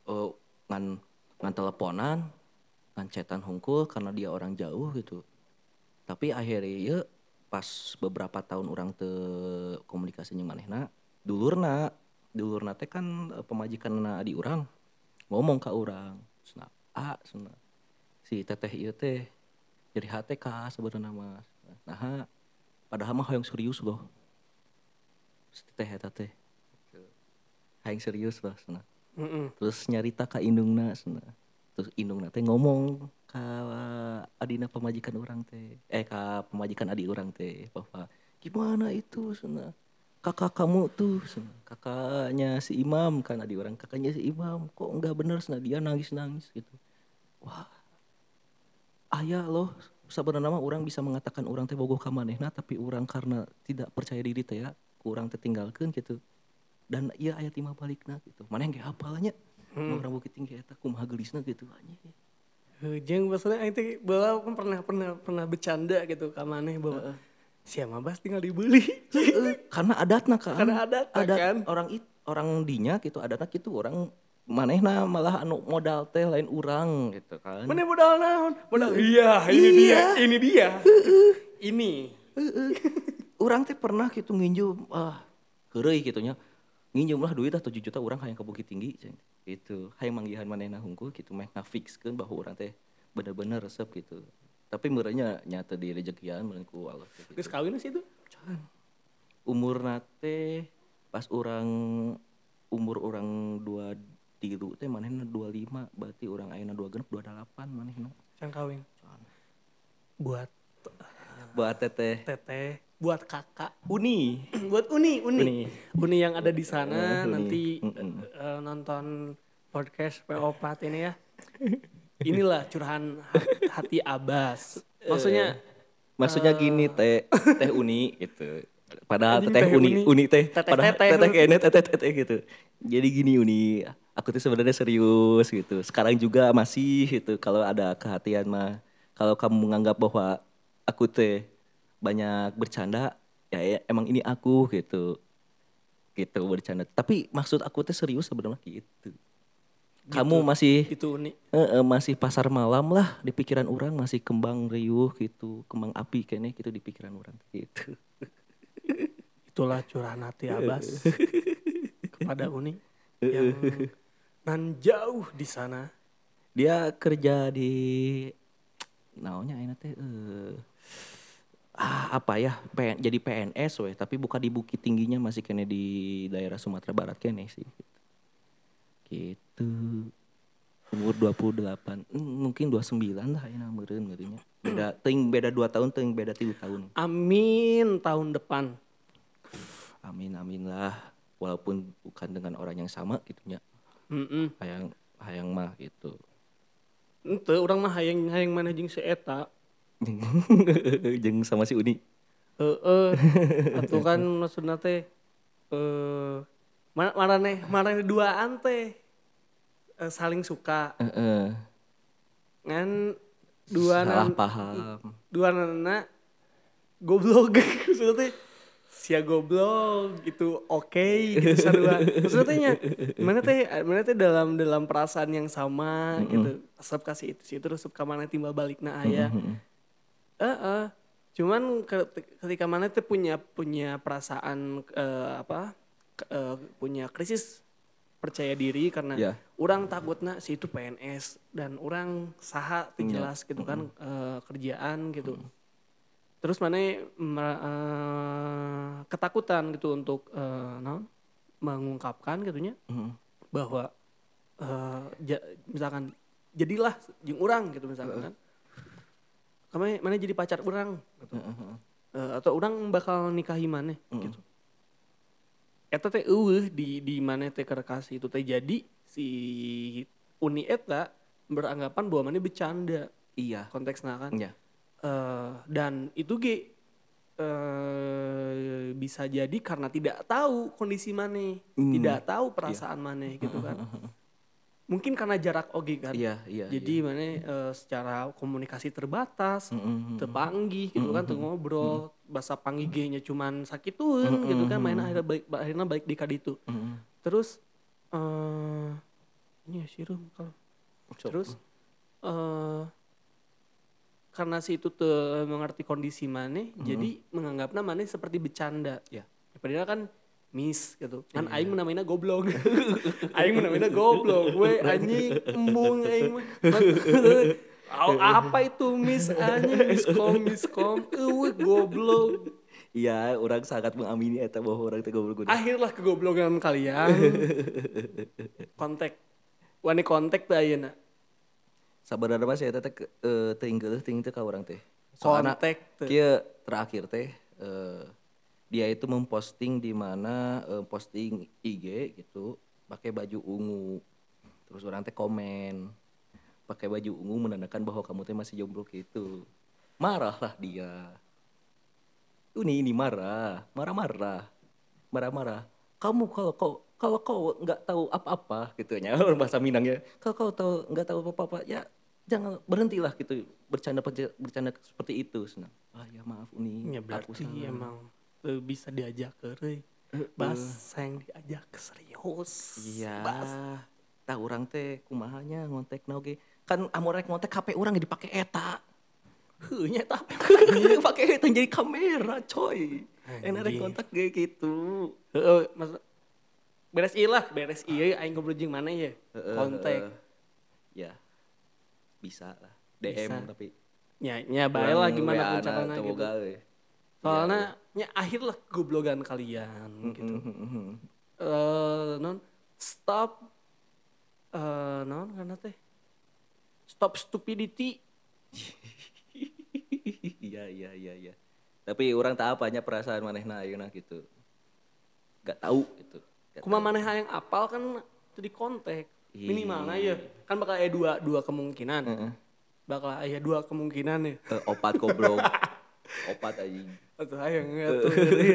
ngan teleponan ngan chatan hungkul karena dia orang jauh gitu tapi akhirnya ya pas beberapa tahun orang teu komunikasi jeung manehna dulurna teh kan pemajikanna adi urang ngomong ka urang cenah cenah si teteh ieu teh jadi HTK sebenarnya mah nah padahal mah hoyong serius loh si teteh eta teh hayang serius loh cenah terus nyarita ka indungna cenah terus indungna teh ngomong ka adina pemajikan orang teh ka pemajikan adi orang teh bahwa gimana itu cenah kakak kamu tuh cenah kakaknya si Imam kan adi orang kakaknya si Imam kok enggak bener cenah dia nangis gitu wah aya loh sebenarnya mah orang bisa mengatakan orang teh bogoh ka manehna tapi orang karena tidak percaya diri teh ya kurang tertinggalkeun gitu dan ieu aya timbal balikna gitu maneh ge hafalnya orang Bukit Tinggi eta kumaha geulisna gitu anjing Jeung maksudnya aing teh baheula kan pernah bercanda gitu ka maneh bahwa sia mah bas tinggal dibeli. Karena adatna kan. Karena adat kan. Orang dinya gitu adatna gitu orang manehna malah anu modal teh lain urang gitu kan. Mana modal naon? Modal iya, ini dia. Ini. Urang teh pernah gitu nginjum heureuy kitu nya. Nginjum lah duit 7 juta urang hayang ka Bukit Tinggi gitu. Hayang manggihan manehna hungkul gitu meh ngafixkeun bahwa urang teh bener-bener resep gitu. Tapi meureunnya nyata di rejekian meureun ku Allah gitu. Geus kawin sih itu? Can. Umurna teh pas umur orang 23 teh manehna 25 berarti urang ayeuna 26 28 manehna. Can kawin. Buat teteh. Buat kakak Uni. Buat Uni yang ada di sana nanti nonton podcast PO4 ini ya. Inilah curahan hati Abbas. Maksudnya Gini teh Uni gitu. Padahal teteh Uni teh padahal teteh kayaknya teteh gitu. Jadi gini Uni, aku tuh sebenarnya serius gitu. Sekarang juga masih gitu kalau ada kehatian mah. Kalau kamu menganggap bahwa aku teh banyak bercanda, ya emang ini aku gitu. Gitu bercanda. Tapi maksud aku teh serius sebenarnya gitu. Kamu masih itu Uni. Masih pasar malam lah di pikiran orang masih kembang riuh gitu, kembang api kayaknya gitu di pikiran orang gitu. Itulah curahan hati Abbas kepada Uni yang nan jauh di sana. Dia kerja di naonnya enak teh apa ya jadi PNS weh tapi bukan di Bukit Tingginya masih kene di daerah Sumatera Barat kene sih gitu umur 28 mungkin 29 lah ya meureunnya beda 2 tahun, teuing beda 3 tahun. Amin tahun depan. Amin lah. Walaupun bukan dengan orang yang sama gitunya. Hayang mah gitu. Ente orang mah hayang mana jeung si eta. Jeung sama si Uni. Atuh kan maksudna teh marane duaan teh saling suka. Ngan Salah paham. duanana goblok maksudnya teh sia goblok gitu oke gitu sarua. Maksudnya teh nya mana teh dalam perasaan yang sama gitu. Asap kasih itu sih terus ka mana timbal balikna aya. Cuman ketika mana teh punya perasaan punya krisis percaya diri karena orang takutnya si itu PNS dan orang saha jelas gitu kan kerjaan gitu. Terus mana ketakutan gitu untuk mengungkapkan gitunya bahwa misalkan jadilah jeung urang gitu misalkan kan. Mana jadi pacar urang gitu. Atau urang bakal nikahi mana gitu. Eta teh di mana teh kerekasi itu teh jadi si Uni eta beranggapan bahwa mana bercanda. Iya. Konteksnya kan. Iya. Dan itu bisa jadi karena tidak tahu kondisi mana, tidak tahu perasaan mana gitu kan. Mungkin karena jarak oge kan. Iya. Jadi mana secara komunikasi terbatas, terpanggih gitu kan, ngobrol, bahasa panggih nya cuman sakitueun gitu kan, main akhirnya balik di kaditu. Terus ini ya sirum kalau. Terus karena si itu tuh mengerti kondisi mana, jadi menganggapnya mana seperti bercanda. Ya. Padahal kan miss gitu. Kan aing menamaina goblok. Aing menamaina goblok. Gue anjing embung aing mah. Apa itu miss anjing miskom. Goblok. Iya, orang sangat mengamini eta bahwa orang teh goblok. Akhirlah kegoblokan kalian. Kontak teh ayeuna. Sabarana mah saya teh teuing geuleuh teuing teh ka urang teh. Kontak teh. Kieu terakhir teh dia itu memposting di mana posting IG gitu pakai baju ungu. Terus orang teh komen pakai baju ungu menandakan bahwa kamu teh masih jomblo gitu. Marahlah dia. Ini marah. Kamu kalau kau nggak tahu apa-apa gitunya bahasa Minangnya. Kalau kau tahu nggak tahu apa-apa ya jangan berhentilah gitu bercanda seperti itu. Senang. Ya maaf Uni. Ya berarti emang bisa diajak ke bahasa yang diajak serius. Iya. Tah urang teh kumahanya ngontekna oge. Kan amun rek ngontek HP urang dipake eta. Heuh nya tah. Pake eta jadi kamera coy. Enak rek kontak ge gitu. Heeh, maksud beres ieu aing ngobrol jeung mana ya? Kontak. Ya. Bisa lah. DM bisa. Tapi nya bae lah gimana pun carana gitu. Soalnya nya akhir lah goblogan kalian gitu. Stop karena teh stop stupidity. Iya. Tapi orang tak apanya perasaan manehna ayeuna gitu. Gak tahu gitu. Kumaha maneh hayang apal kan itu di kontak. Minimalnya ya kan bakal aya dua kemungkinan. Bakal aya dua kemungkinan ya. Opat goblok. Opat anjing. Atuh hayang atuh.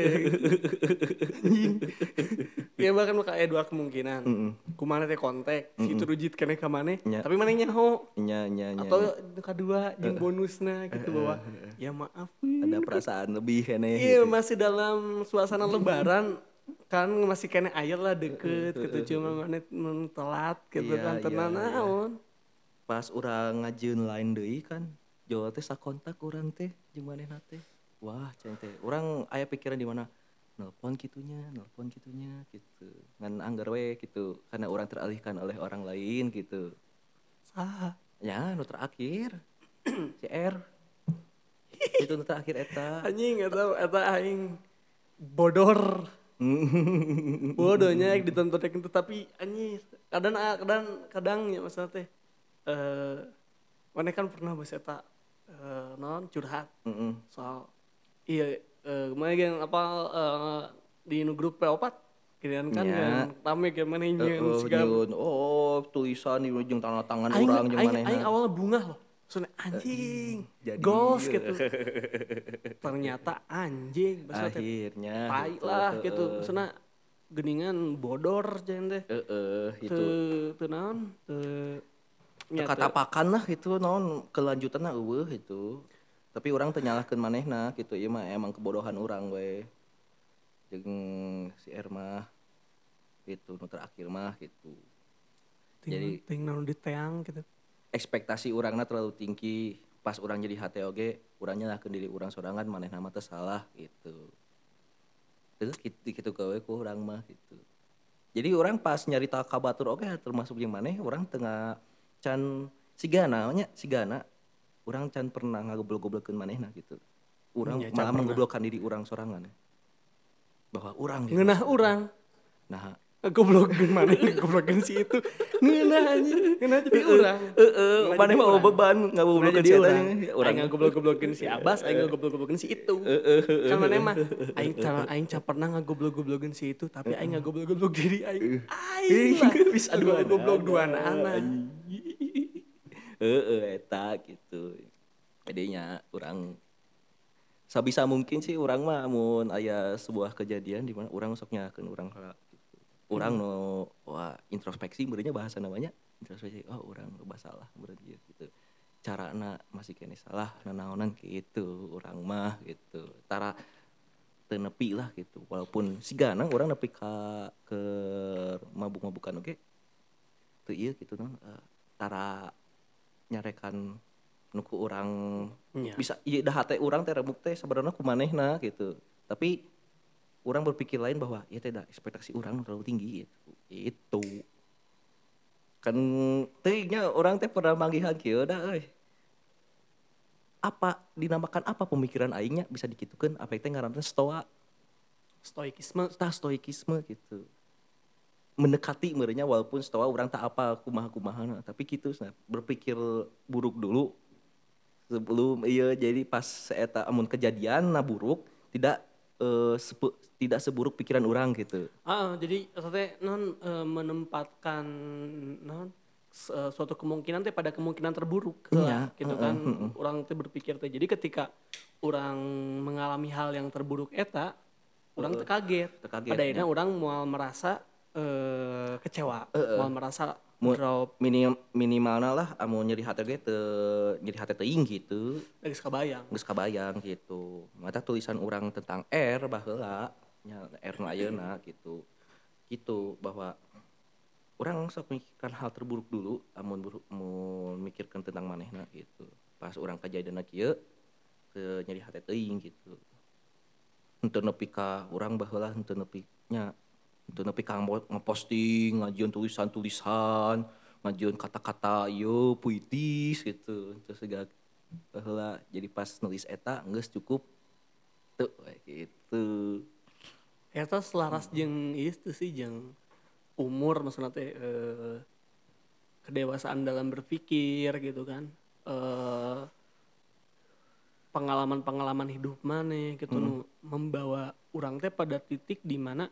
Ya bahkan bakal aya dua kemungkinan. Kumaha teh kontak, si itu rujit keneh ka maneh, tapi maneh nyaho. Nya. Atau kedua jeung bonusna gitu bahwa ya maaf. Ada perasaan lebih keneh. Iya, masih dalam suasana lebaran kan masih kena air lah deket gitu cuma maneh telat gitu kan tenan naon. Pas urang ngajeun lain deui kan Jawa teh sakontak urang teh jeung manehna teh. Wah, cenah teh. Urang aya pikiran di mana nelpon gitunya gitu. Ngan anggar we gitu karena orang teralihkan oleh orang lain gitu. Saha? Ya, nu terakhir. CR. Itu nu terakhir eta. Anjing eta aing bodor. Bodohnya yang ditonton itu tapi anjir kadang ya masalah teh mana kan pernah bahas eta non curhat Heeh. soal iya kemarin apa di nu grup P4 kalian kan Nya. yang rame gimana nyeun siga Nyun. Oh, tulisan di ujung tangan tangan aing orang jeung aing aing manehna. awalnya bunga loh. Soalnya anjing, Jadi goals gitu. Ternyata anjing, maksudnya teh akhirnya tai gitu. lah gitu. Maksudnya geningan bodor jen teh. Itu Teu naon, teu nya teu katapakan lah gitu non kelanjutanna eueuh itu. Tapi orang teu nyalahkeun manehna gitu ieu mah emang kebodohan orang we. Jeung si Erma gitu nu terakhir mah gitu. Jadi ting naon diteang gitu. ekspektasi orangnya terlalu tinggi pas orang jadi HTOG orang nyalahkeun diri orang sorangan manehna mah teu salah gitu. Terus gitu gawe ku urang mah gitu. Jadi orang pas nyarita ka batur oge termasuk jeung maneh orang tengah can sigana nya sigana orang can pernah ngagoblok-goblokkeun manehna gitu. Urang Nya, can malah pernah. menggoblokkan diri orang sorangan. Bahwa orang gitu. Ngeunah urang. Nah, Ngegoblokin mana ngegoblokin si itu. Ngeunah anjing, ngeunah jadi urang. maneh mah beban ngagoblokkeun si urang. Aing ngagoblok-goblokin si Abbas, aing ngagoblok-goblokin si itu. Kan maneh mah aing can pernah ngagoblok-goblokin si itu, tapi aing ngagoblok-goblok diri aing. Aing lah Bisa goblok duaan anak. Eta gitu. Jadinya orang sabisa mungkin sih orang mah mun aya sebuah kejadian di mana orang sok nyalakeun urang heula gitu. Urang nu wah introspeksi beureunya bahasa namanya introspeksi. Oh, urang loba salah beureuh gitu. Carana masih kene salah nanaonan gitu urang mah gitu. Tara teu nepi lah gitu. Walaupun sigana urang nepi ka ke mabuk-mabukan oge teu ieu gitu non tara nyarekan nuku orang Nya. bisa iya dah hate orang teh remuk teh sebenarnya kumanehna gitu tapi orang berpikir lain bahwa ya teh da ekspektasi orang terlalu tinggi gitu itu kan tehnya orang teh pernah manggihan kieu da euy apa dinamakan apa pemikiran aingnya bisa dikitukeun apa teh ngaranna Stoikisme. stoikisme gitu mendekati merenya walaupun stoa orang tak apa kumaha-kumaha tapi gitu berpikir buruk dulu sebelum iya jadi pas seeta amun kejadian na buruk tidak tidak seburuk pikiran orang gitu. Jadi teh non menempatkan non suatu kemungkinan teh pada kemungkinan terburuk lah Iya, gitu kan. Orang teh berpikir teh. Jadi ketika orang mengalami hal yang terburuk eta, orang teh kaget. Teu kaget, Pada akhirnya nya. orang mau merasa kecewa, mau merasa Mu- drop minimalna lah amun nyeri hati ge teu nyeri hati teuing gitu. dari kebayang. Geus kabayang gitu. Mata tulisan orang tentang R baheula nya R nu ayeuna gitu. Gitu bahwa orang sok mikirkan hal terburuk dulu amun mikirkan tentang manehna gitu. Pas orang kejadian kieu teu nyeri hati teuing gitu. Henteu nepi ka urang baheula henteu nepi nya henteu nepi ka ngeposting ngajian tulisan-tulisan ngajian kata-kata ieu puitis gitu terus segala baheula jadi pas nulis eta geus cukup teu gitu. Eta selaras jeung itu sih jeung umur maksudnya teh kedewasaan dalam berpikir gitu kan. Pengalaman-pengalaman hidup maneh gitu nu membawa urang teh pada titik di mana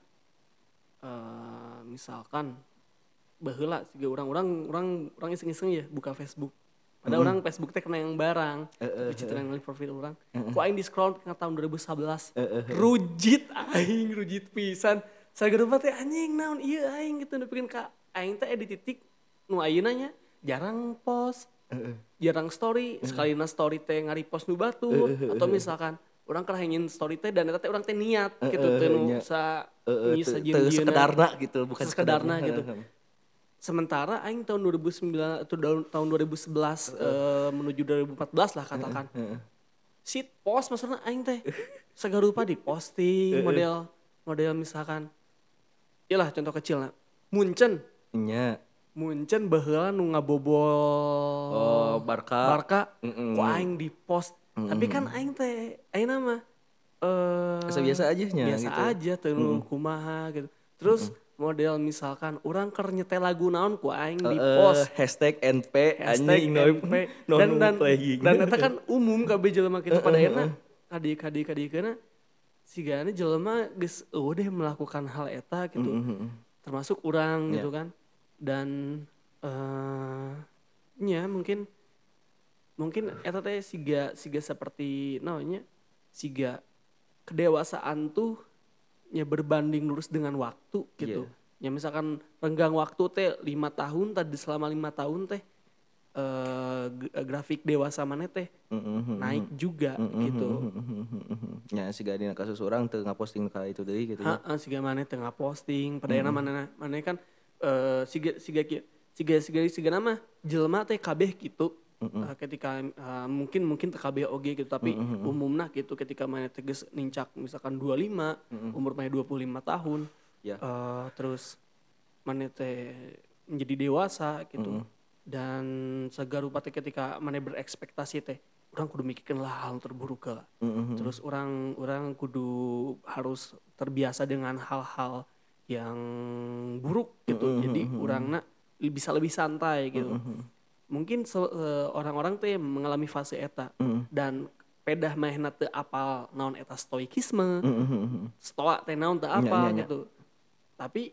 misalkan baheula siga urang iseng-iseng ya buka Facebook. Padahal orang Facebook teh kena yang barang, tapi citra yang profil orang. Ku aing di scroll ke tahun 2011. Rujit pisan. Sageureuma teh anjing naon ieu aing gitu nepikeun ka aing teh di titik nu ayeuna nya jarang post. Jarang story, sekalina story teh ngari-post nu batur atau misalkan orang kerahengin story teh dan eta teh urang teh niat gitu teh nu Teu sekedarna gitu bukan sekedarna gitu. Sementara aing tahun 2009 atau tahun 2011 menuju 2014 lah katakan. Shit post maksudnya aing teh sagarupa di posting model misalkan iyalah contoh kecil lah Munchen baheula nu ngabobol Barca ku aing di post tapi kan aing teh ayeuna mah biasa aja nya biasa gitu. aja teu nu kumaha gitu terus model misalkan orang keur nyetel lagu naon ku aing di post hashtag NP hashtag anjing NP non dan playing. dan eta kan umum kabeh jelema kitu pada ayeuna kadi-kadikeuna sigana jelema geus deh melakukan hal eta gitu. Termasuk orang gitu kan. Dan nya mungkin eta teh siga seperti naonnya siga kedewasaan tuh nya berbanding lurus dengan waktu gitu. Ya misalkan renggang waktu teh 5 tahun tadi selama 5 tahun teh grafik dewasa mana teh naik juga gitu. Ya siga dina kasus orang teu ngaposting ka itu deui gitu ya. Siga mana teh ngaposting padahal mana kan siga nama jelema teh kabeh gitu. Ketika mungkin kabeh oge gitu tapi umumna gitu ketika mana teh geus nincak misalkan 25 umur mana 25 tahun terus mana teh menjadi dewasa gitu dan sagarupa teh ketika mana berekspektasi teh orang kudu mikirkeun lah hal terburuk lah terus orang kudu harus terbiasa dengan hal-hal yang buruk gitu jadi orangna bisa lebih santai gitu. Mungkin orang-orang teh mengalami fase eta dan pedah mahna teu apal naon eta stoikisme. Stoa teh naon teu apal gitu. Tapi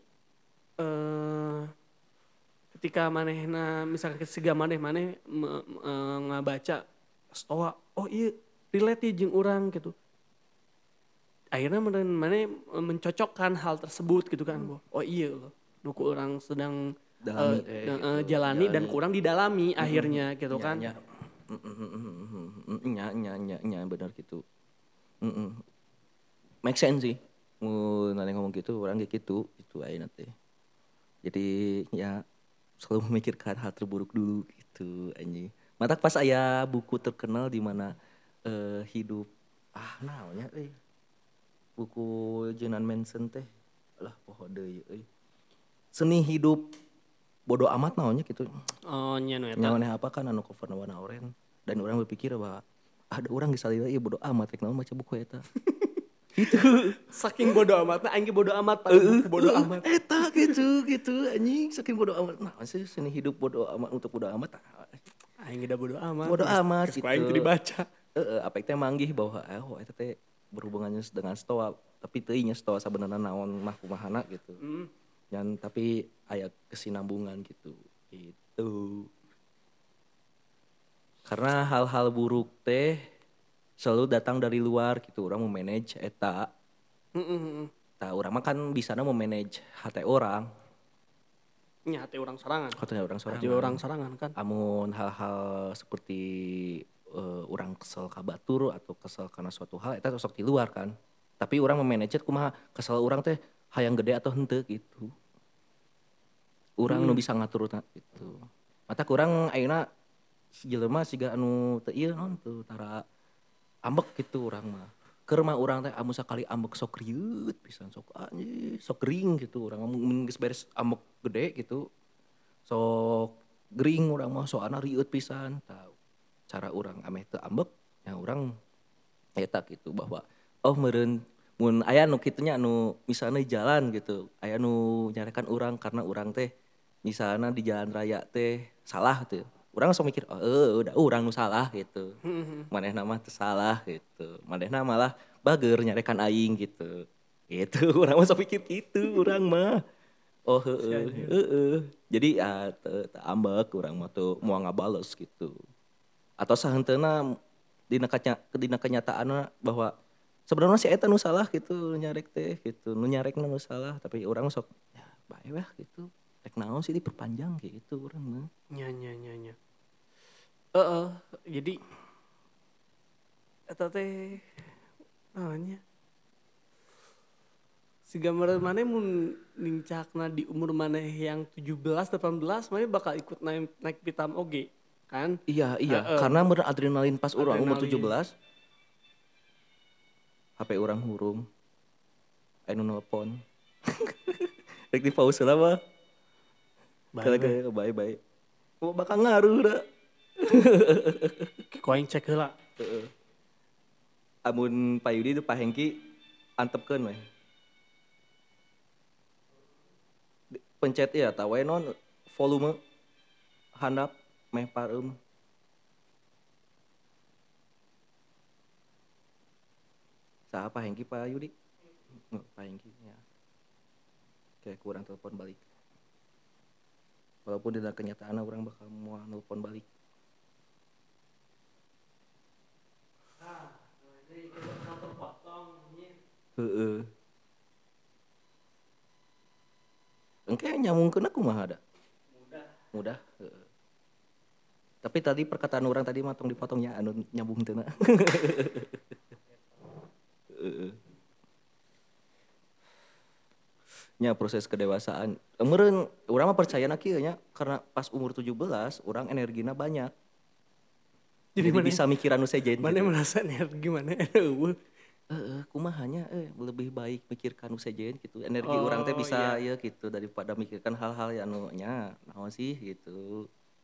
ketika manehna misalkan siga maneh ngabaca stoa, oh iya relate jeung urang gitu. Akhirnya maneh mencocokkan hal tersebut gitu kan. Oh iya loh, nuku orang sedang jalani dan kurang didalami akhirnya gitu kan. Nya benar gitu. Make sense sih. Mun ngomong gitu orang kayak gitu ayeuna teh. Jadi ya selalu memikirkan hal terburuk dulu gitu anjing. Matak pas aya buku terkenal di mana hidup naonnya buku Jenan Manson teh lah poho deui Seni hidup bodoh amat naonnya gitu. Oh nya nu eta. Nyamaneh apa kan anu cover warna oranye dan orang berpikir bahwa ada orang geus salila ieu bodoh amat rek naon baca buku eta. Gitu. Saking bodoh amatna aing ge bodoh amat pada buku bodoh amat. Eta gitu anjing saking bodoh amat. Nah, sih seni hidup bodoh amat untuk bodoh amat. Aing ge bodoh amat. Bodoh amat gitu. Aing teu dibaca. Apa teh manggih bahwa eta teh berhubungannya dengan stoa tapi teu nya stoa sabenerna naon mah kumahana gitu. Dan tapi aya kesinambungan gitu. Karena hal-hal buruk teh selalu datang dari luar gitu. Orang mau manage eta. Tah urang mah kan bisana mau manage hati orang. Nya hati orang sorangan. Hati orang sorangan kan. Amun hal-hal seperti orang kesel ka batur atau kesel karena suatu hal eta sok di luar kan. Tapi orang memanage kumaha kesel orang teh hayang gede atau henteu gitu. Urang nu bisa ngatur gitu. Mata kurang ayeuna jelema siga anu teu ieu naon teu tara ambek gitu urang mah. Keur mah urang teh amun sakali ambek sok rieuit pisan sok anjing sok gering gitu urang mun geus beres ambek gede gitu. Sok gering urang mah soalna rieuit pisan. Tah cara urang ameh teu ambek nya urang eta gitu bahwa meureun mun aya nu kitu nya anu misalna di jalan gitu aya nu nyarekan urang karena urang teh misalna di jalan raya teh salah tuh. Urang langsung mikir udah urang nu salah gitu. Manehna mah teu salah gitu. Manehna malah bager nyarekan aing gitu. Gitu urang mah sok pikir kitu urang mah. Oh heeh. Jadi teu ambek urang mah tuh moal ngabales gitu. Atau sahenteuna dina kenyataanna bahwa sebenarnya si eta nu salah gitu nyarek teh gitu. Nu nyarekna nu salah tapi urang sok ya bae weh gitu. Rek naon sih diperpanjang gitu urang mah. Nya. Jadi eta teh naonnya si gambaran maneh mun nincakna di umur maneh yang 17 18 maneh bakal ikut naik pitam oge kan. Iya karena beradrenalin pas urang umur 17 HP urang hurung anu nelpon rek di pause lah mah bye bakal ngaruh dah. Ku aing cek heula. Amun Pak Yudi itu Pak Hengki antepkeun we. pencet ya tawe non volume handap meh pareum. Saha Pak Hengki Pak Yudi? Pak Hengki ya. Kayak kurang telepon balik. Walaupun di dalam kenyataan orang bakal mau telepon balik. Heeh. Engke nyamungkeun aku mah ada. Mudah. Heeh. Tapi tadi perkataan orang tadi matong dipotongnya anu nyambung teu na. Heeh. Nya proses kedewasaan. Meureun urang mah percayana kieu nya karena pas umur 17 orang energina banyak. Jadi bisa mikiran nu sejen. Mana gitu. merasa energi mana Kumahanya lebih baik mikirkan nu sejen gitu. Energi Oh, urang teh bisa iya. ya gitu daripada mikirkan hal-hal yang anu nya naon sih gitu.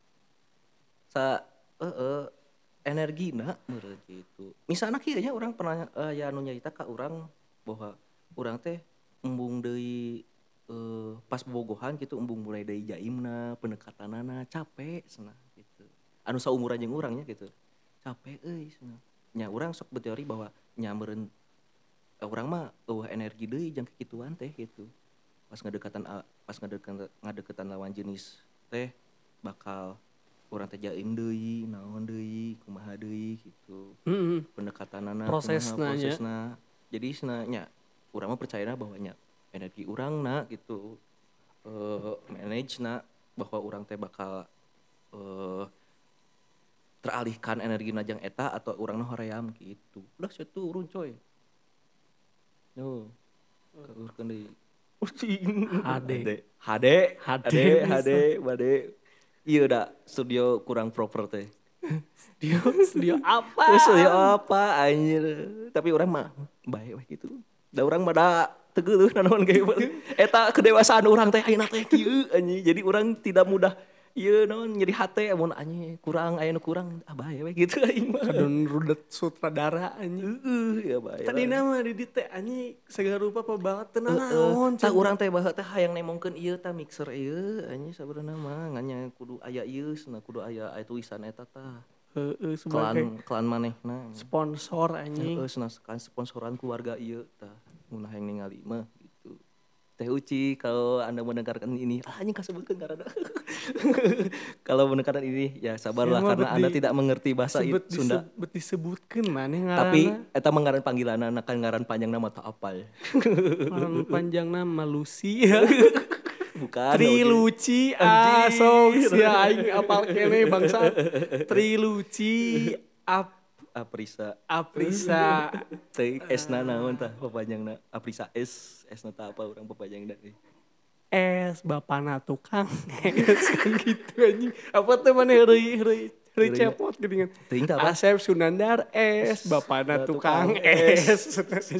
Energina meureun gitu. Misalna kieu nya urang pernah ya anu nyarita ka urang bahwa urang teh embung deui pas bobogohan gitu embung mulai deui jaimna, pendekatanana capek cenah gitu. Anu saumuran jeung urang nya gitu. Capek euy cenah. Nya urang sok berteori bahwa nya meureun urang mah eueuh energi deui jeung kikituan teh gitu. Pas ngadekatan lawan jenis teh bakal urang teh jaim deui, naon deui, kumaha deui gitu. Mm-mm. Pendekatanana kumaha Prosesna nya. prosesna. Jadi nya urang mah percayana bahwa nya energi urangna gitu manage na bahwa urang teh bakal teralihkan energi najang eta atau urangna hoream gitu. Udah situ urun coy. Yo. Kaurkeun deui. HD. HD bisa. Bade. Ieu da studio kurang proper teh. Studio apa? Studio apa anjir. Tapi urang mah bae we gitu. Da urang mah da teu geuleuh nanaon ge. Eta kedewasaan urang teh ayeuna teh kieu anjing. Jadi urang tidak mudah ieu naon nyeri hate amun anjing kurang aya nu kurang bae we gitu aing mah. Kadon rudet sutradara anjing. Ya bae. Tadi nama di teh anjing segala rupa banget teu naon. Tah urang teh baheula teh hayang nemongkeun ieu tah mixer ieu anjing sabenerna mah nganya kudu aya ieu cenah kudu aya tulisan eta tah. Heeh sebagai Klan manehna. sponsor anjing. Cenah kan sponsoran keluarga ieu tah mun hayang ningali mah gitu. Teh Uci kalau Anda mendengarkan ini, anjing kasebutkeun ngaranna. Kalau mendengarkan ini ya sabarlah Ya, karena Anda tidak mengerti bahasa Sunda. disebutkeun maneh ngaranna. Tapi eta mah ngaran panggilanna kan ngaran panjang nama teu apal. Ngaran panjangna Malusi ya. Bukan. Triluci sok sia aing apal kene bangsa. Triluci Aprisa. Teh esna naon tah papanjangna? Aprisa esna tah apa urang papanjangna deui. Bapana tukang es kan gitu anjing. Apa teh maneh heureuy cepot geuningan. Teuing tah apa? Asep Sunandar bapana tukang es.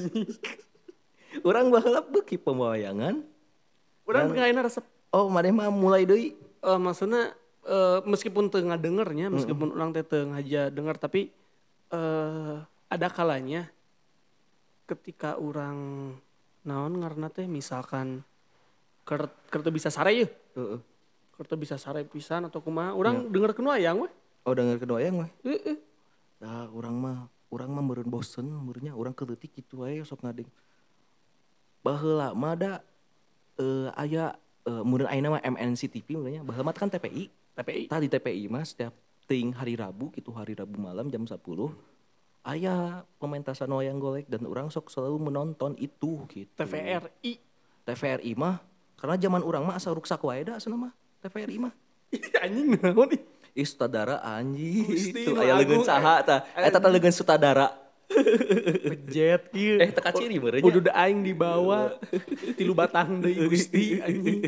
Urang baheula beuki pemawayangan. Urang teu ayeuna resep. Oh, maneh mah mulai deui. Maksudnya meskipun teu ngadengernya, meskipun urang teh teu ngaja denger tapi ada kalanya ketika orang naon ngaranna teh misalkan keur teu bisa sare yeuh. Heeh. Keur teu bisa sare pisan atau kumaha, urang dengerkeun wayang we. Oh, dengerkeun wayang we. Heeh. Nah, urang mah meureun bosen, meureunnya urang keleutik kitu wae sok ngadeng. Baheula mah da aya meureun ayeuna mah MNC TV meureunnya, baheula mah kan TPI. Tadi TPI mah setiap teuing hari Rabu gitu, hari Rabu malam jam 10 aya pementasan wayang golek dan orang sok selalu menonton itu gitu. TVRI mah karena zaman orang mah asa ruksak wae da cenah mah TVRI mah. Anjing naon ih. Sutradara anjing. Itu aya leungeun saha tah? Eta teh leungeun sutradara. Pejet kieu. Teka ciri meureunnya. Kudu da aing dibawa 3 batang deui Gusti anjing.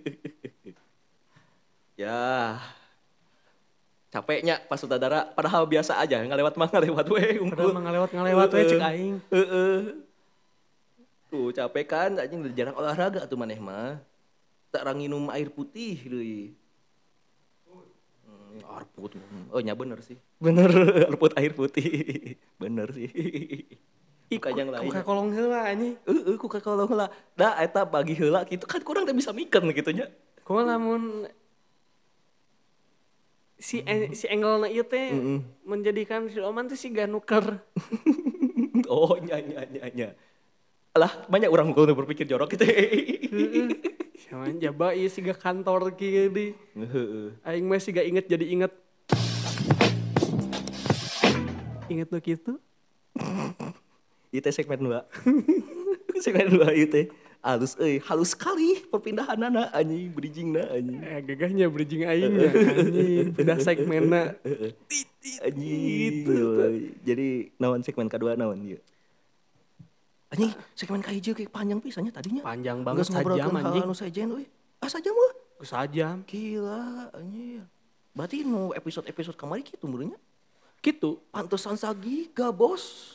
Ya. Capeknya pas sutradara padahal biasa aja ngalewat mah ngalewat we. Padahal mah ngalewat we cek aing. Tuh capek kan anjing jarang olahraga tuh maneh mah. Tak ranginum air putih deui. Air putih. Oh nya bener sih. Bener air putih. Bener sih. Bukan yang lain. Kuka kolong heula anjing. Ku kalau heula. Da eta bagi heula gitu kan kurang teh bisa mikeun gitu nya. Kumaha lamun si angle-na ieu teh menjadikan si Oman teh siga nuker. Oh nya. Lah banyak orang kudu berpikir jorok gitu. Sama jaba ieu siga kantor kieu di. Heeh. Aing mah siga inget jadi inget. Inget nu kitu. Ieu teh segmen 2. Segmen 2 ieu teh. Halus sekali perpindahanana anjing, bridgingna anjing. Gagahnya bridging aing nya anjing. Pindah segmenna. Anjing. Gitu. Jadi naon segmen kedua naon ieu? Anjing, segmen ka hijau kayak panjang pisannya tadinya. Panjang banget, Geus ngobrolkeun sajam, hal anjing. anu sajen euy. Sajam mah. Sajam. Gila anjing. Berarti nu episode-episode kemarin kitu meureunnya. Gitu. Pantesan sagiga, Bos.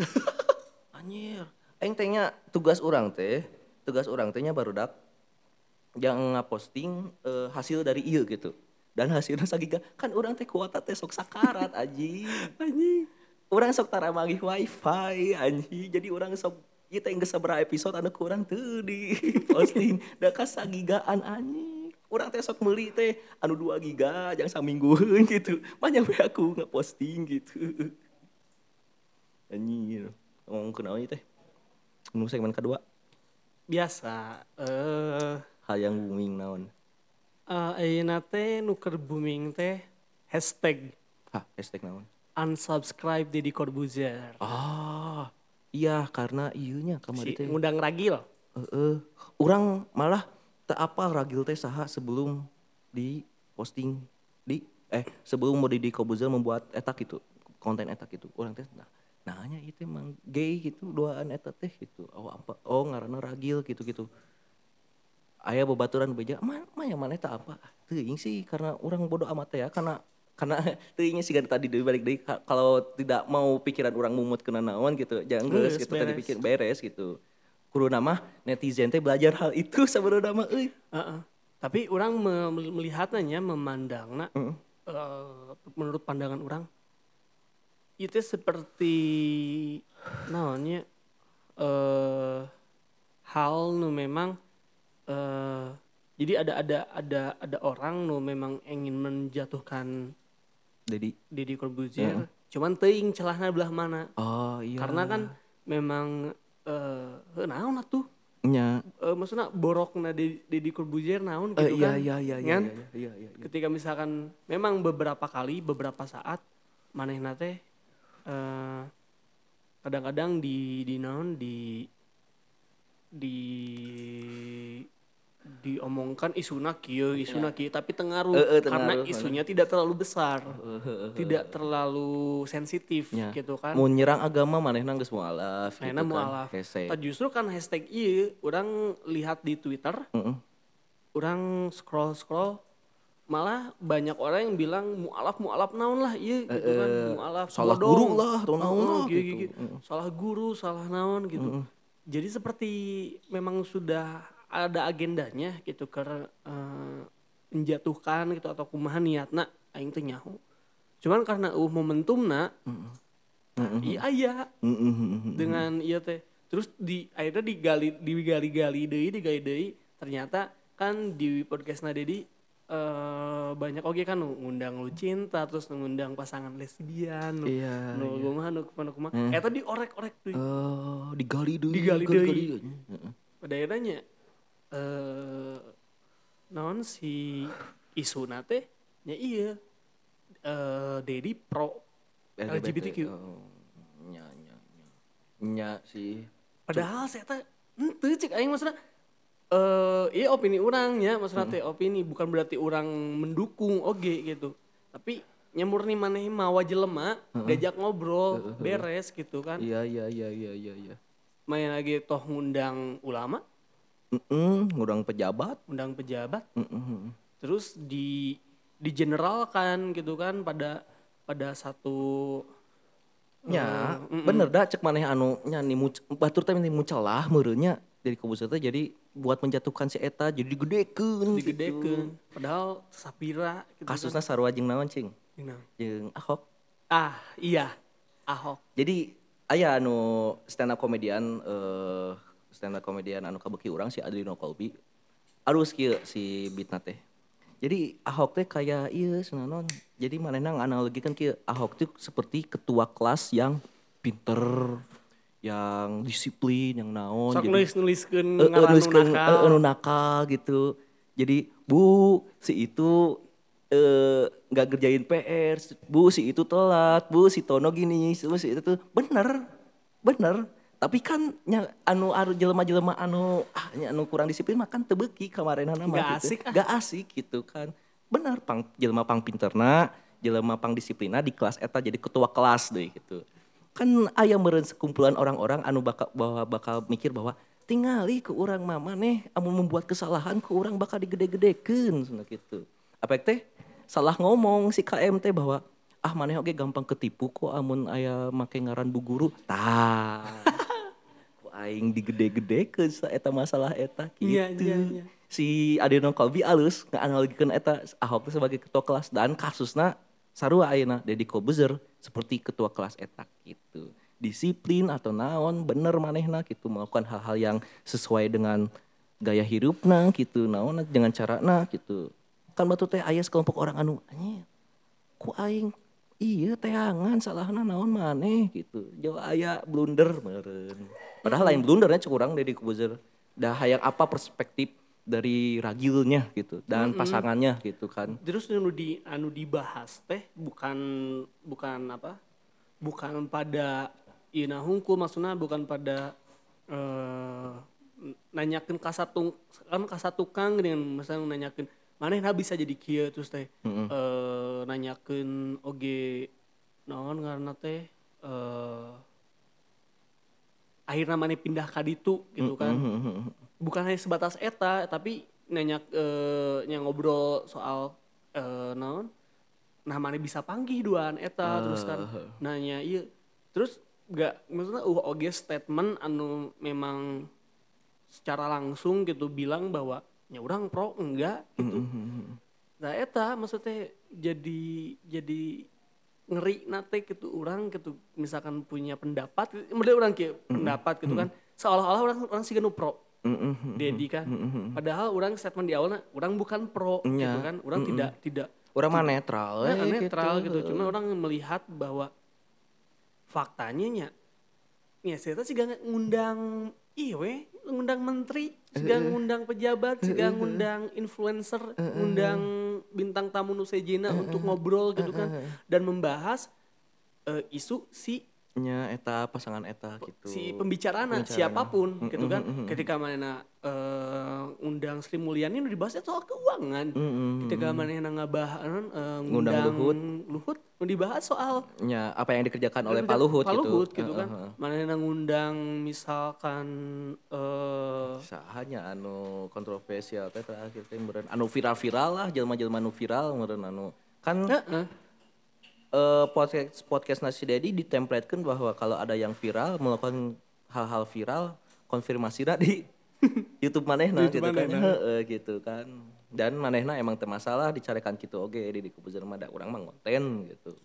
Anjir. Aing teh nya tugas urang teh nya barudak yang ngaposting hasil dari ieu gitu. Dan hasilnya sagiga kan urang teh kuota teh sok sakarat anjing. Anjing. Urang sok tara manggih wifi anjing. Jadi urang sok ieu teh geus sabaraha episode anu kurang teu di posting. Da ka sagigaan anjing. Urang teh sok meuli teh anu 2 giga jang saminggueun gitu. Banyak we aku ngeposting gitu. Anjing. Ngomongkeun naon ieu teh? Nu segmen kedua. Biasa. Hal yang booming naon? Ayeuna teh nuker booming teh hashtag Hah, hashtag naon? unsubscribe Deddy Corbuzier. Ah, iya karena ieunya kamari Si teh. ngundang ragil. Urang malah teu apal ragil teh saha sebelum di posting sebelum mau Deddy Corbuzier membuat eta gitu, konten eta gitu. Urang teh nanya itu emang gay gitu duaan eta teh gitu. Oh ngaranna ragil gitu-gitu. Aya babaturan beja, mah yang mana eta apa? Teuing sih karena orang bodoh amat ya karena teuingnya sih kan tadi balik deui kalau tidak mau pikiran orang mumut kena naon gitu. Jangan geus gitu tadi pikir beres gitu. Kuduna mah netizen teh belajar hal itu sabenerna mah euy. Tapi orang melihatnya memandangna menurut pandangan orang itu seperti naonnya hal nu memang jadi ada orang nu memang ingin menjatuhkan Deddy Corbuzier, cuman teuing celahna belah mana. Oh iya. Karena kan memang naon atuh? Nya. Maksudnya borokna Deddy Corbuzier naon gitu kan? Iya. Ketika misalkan memang beberapa saat manehna teh kadang-kadang diomongkan isuna kieu tapi tengaruh karena isunya tidak terlalu besar, tidak terlalu sensitif gitu kan. Mau nyerang agama manehna geus mualaf gitu kan. Mualaf. Justru kan hashtag ieu orang lihat di Twitter, orang scroll malah banyak orang yang bilang mualaf naon lah ieu gitu kan, mualaf salah bodong. guru lah atau naon lah gitu. Salah guru, salah naon gitu. Jadi seperti memang sudah ada agendanya gitu karena menjatuhkan gitu atau kumaha niatna aing teh nyaho. Cuman karena momentumna iya dengan iya teh terus akhirnya digali deui ternyata kan di podcastna Deddy banyak oge kan ngundang Lucinta terus ngundang pasangan lesbian kumaha eta diorek-orek deui. Digali deui. Pada akhirnya naon si isuna teh nya iya Deddy pro LGBTQ. Nya sih. Padahal saya teh henteu cek aing maksudna iya opini urang nya maksudna teh opini bukan berarti orang mendukung oge gitu. Tapi nyamurni maneh mawa jelema diajak ngobrol beres gitu kan. Iya. Main lagi toh ngundang ulama. Ngundang pejabat. Terus di generalkan gitu kan pada satu nya bener dah cek maneh anu nya batur teh mucelah meureunnya dari Corbuzier teh jadi buat menjatuhkan si eta jadi digedekeun gitu. Padahal sapira gitu. Kasusna sarua jeung naon cing? Jeung Ahok. Iya, Ahok. Jadi aya anu stand up komedian anu kabeuki urang si Adrino Colby. Alus kieu si bitna teh. Jadi Ahok teh kayak ieu senanon. Jadi manehna nganalogikeun kieu Ahok teh seperti ketua kelas yang pinter, yang disiplin, yang naon. Sok Jadi nulis-nuliskeun ngaran nu nakal. anu nakal gitu. Jadi Bu si itu nggak kerjain PR, Bu si itu telat, Bu si Tono gini, Bu si itu tuh bener. Tapi kan anu jelema-jelema anu kurang disiplin mah kan teu beuki kamarenana mah Nggak gitu. asik ah. Gak asik gitu kan. Bener jelema pang pinterna, jelema pang disiplina di kelas eta jadi ketua kelas deh gitu. Kan aya meureun sekumpulan orang-orang anu bakal mikir bahwa tingali ke urang mah maneh amun membuat kesalahan ke urang bakal digede-gedekeun cenah gitu. Apek teh salah ngomong si KM teh bahwa maneh oge gampang ketipu kok amun aya make ngaran Bu Guru. Tah. Ku aing digede-gedekeun sa eta masalah eta Iya, gitu. iya, iya. Si Adeno Kalbi alus nganalogikeun eta Ahok teh sebagai ketua kelas dan kasusna sarua ayeuna Deddy Kobuzer seperti ketua kelas eta gitu. Disiplin atau naon bener manehna gitu melakukan hal-hal yang sesuai dengan gaya hidupna gitu naon dengan carana gitu. Kan batu teh aya sekelompok orang anu anjing ku aing iya teangan salahna naon maneh gitu. Jauh aya blunder meureun. Padahal lain blundernya cek urang Deddy Kobuzer. Dah hayang apa perspektif dari ragilnya gitu dan pasangannya gitu kan. Terus anu dibahas teh bukan apa? Bukan pada ieu hungkul maksudnya bukan pada nanyakeun kasatukang dengan misalnya nanyakeun manehna bisa jadi kieu terus teh nanyakeun oge naon ngaranna teh akhirnya maneh pindah ka ditu gitu kan. Bukan hanya sebatas eta tapi nya ngobrol soal naon nah maneh bisa panggih duaan eta terus kan nanya ieu terus gak maksudnya oge statement anu memang secara langsung gitu bilang bahwa nya urang pro enggak gitu. Nah eta maksudnya jadi ngeri nate gitu orang gitu misalkan punya pendapat model orang kayak pendapat gitu kan seolah-olah orang sih pro Dedi kan padahal orang statement di awalnya orang bukan pro gitu kan orang tidak Urang mah netral netral gitu cuma orang melihat bahwa faktanya ya saya sih gak ngundang ngundang menteri juga ngundang pejabat juga ngundang influencer ngundang bintang tamu nu sejena untuk ngobrol gitu kan dan membahas isu si nya eta pasangan eta gitu. Si pembicaraan siapapun gitu kan. Ketika mana undang Sri Mulyani nu dibahasnya soal keuangan. Ketika mana ngabahas ngundang Luhut nu dibahas soal nya apa yang dikerjakan oleh Pak Luhut gitu kan. Mana ngundang misalkan sahanya anu kontroversial teh terakhir teh meureun anu viral-viral lah jelema-jelema nu viral meureun anu kan podcast Nasi Dedi ditemplatkan bahwa kalau ada yang viral melakukan hal-hal viral konfirmasinya di YouTube manehna gitu kan gitu kan dan manehna emang teu masalah dicarekan kitu oge di Kobuzer mah da urang mah ngonten gitu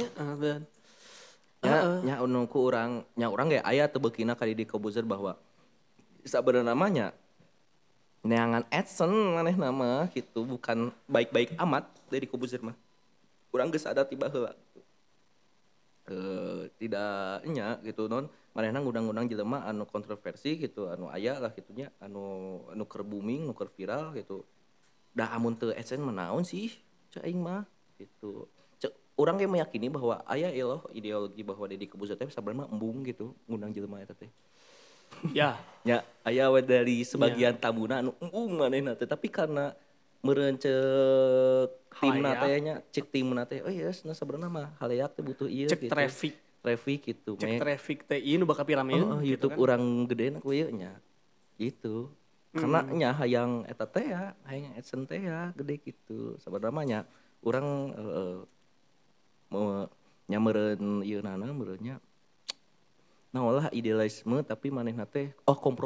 nya anu ku urang ge aya teu beukina ka di Kobuzer bahwa sabenerna namanya neangan adsense manehna mah gitu bukan baik-baik amat dari Kobuzer mah urang geus ada tiba heula tidak nya gitu non manehna ngundang-undang jelema anu kontroversi gitu anu aya lah gitunya anu keur booming nu keur viral gitu da amun teu esen menaon sih cek aing mah gitu cek urang ge meyakini bahwa aya loh ideologi bahwa Deddy Kobuzer teh sabarna embung gitu ngundang jelema eta teh ya aya we dari sebagian tamuna anu embung manehna teh tapi karena meureun cek timna teh nya cek timna teh oh iya sabenerna mah halayak teh butuh ieu cek gitu. Traffic gitu. Cek traffic teh ieu nu bakal pirameun gitu YouTube kan. Urang gedena ku ieu nya. Gitu. Karena nya hayang eta teh ya, hayang adsense teh ya gede gitu. Sabenerna mah nya urang nya meureun ieu nana meureun nya naolah idealisme tapi manehna teh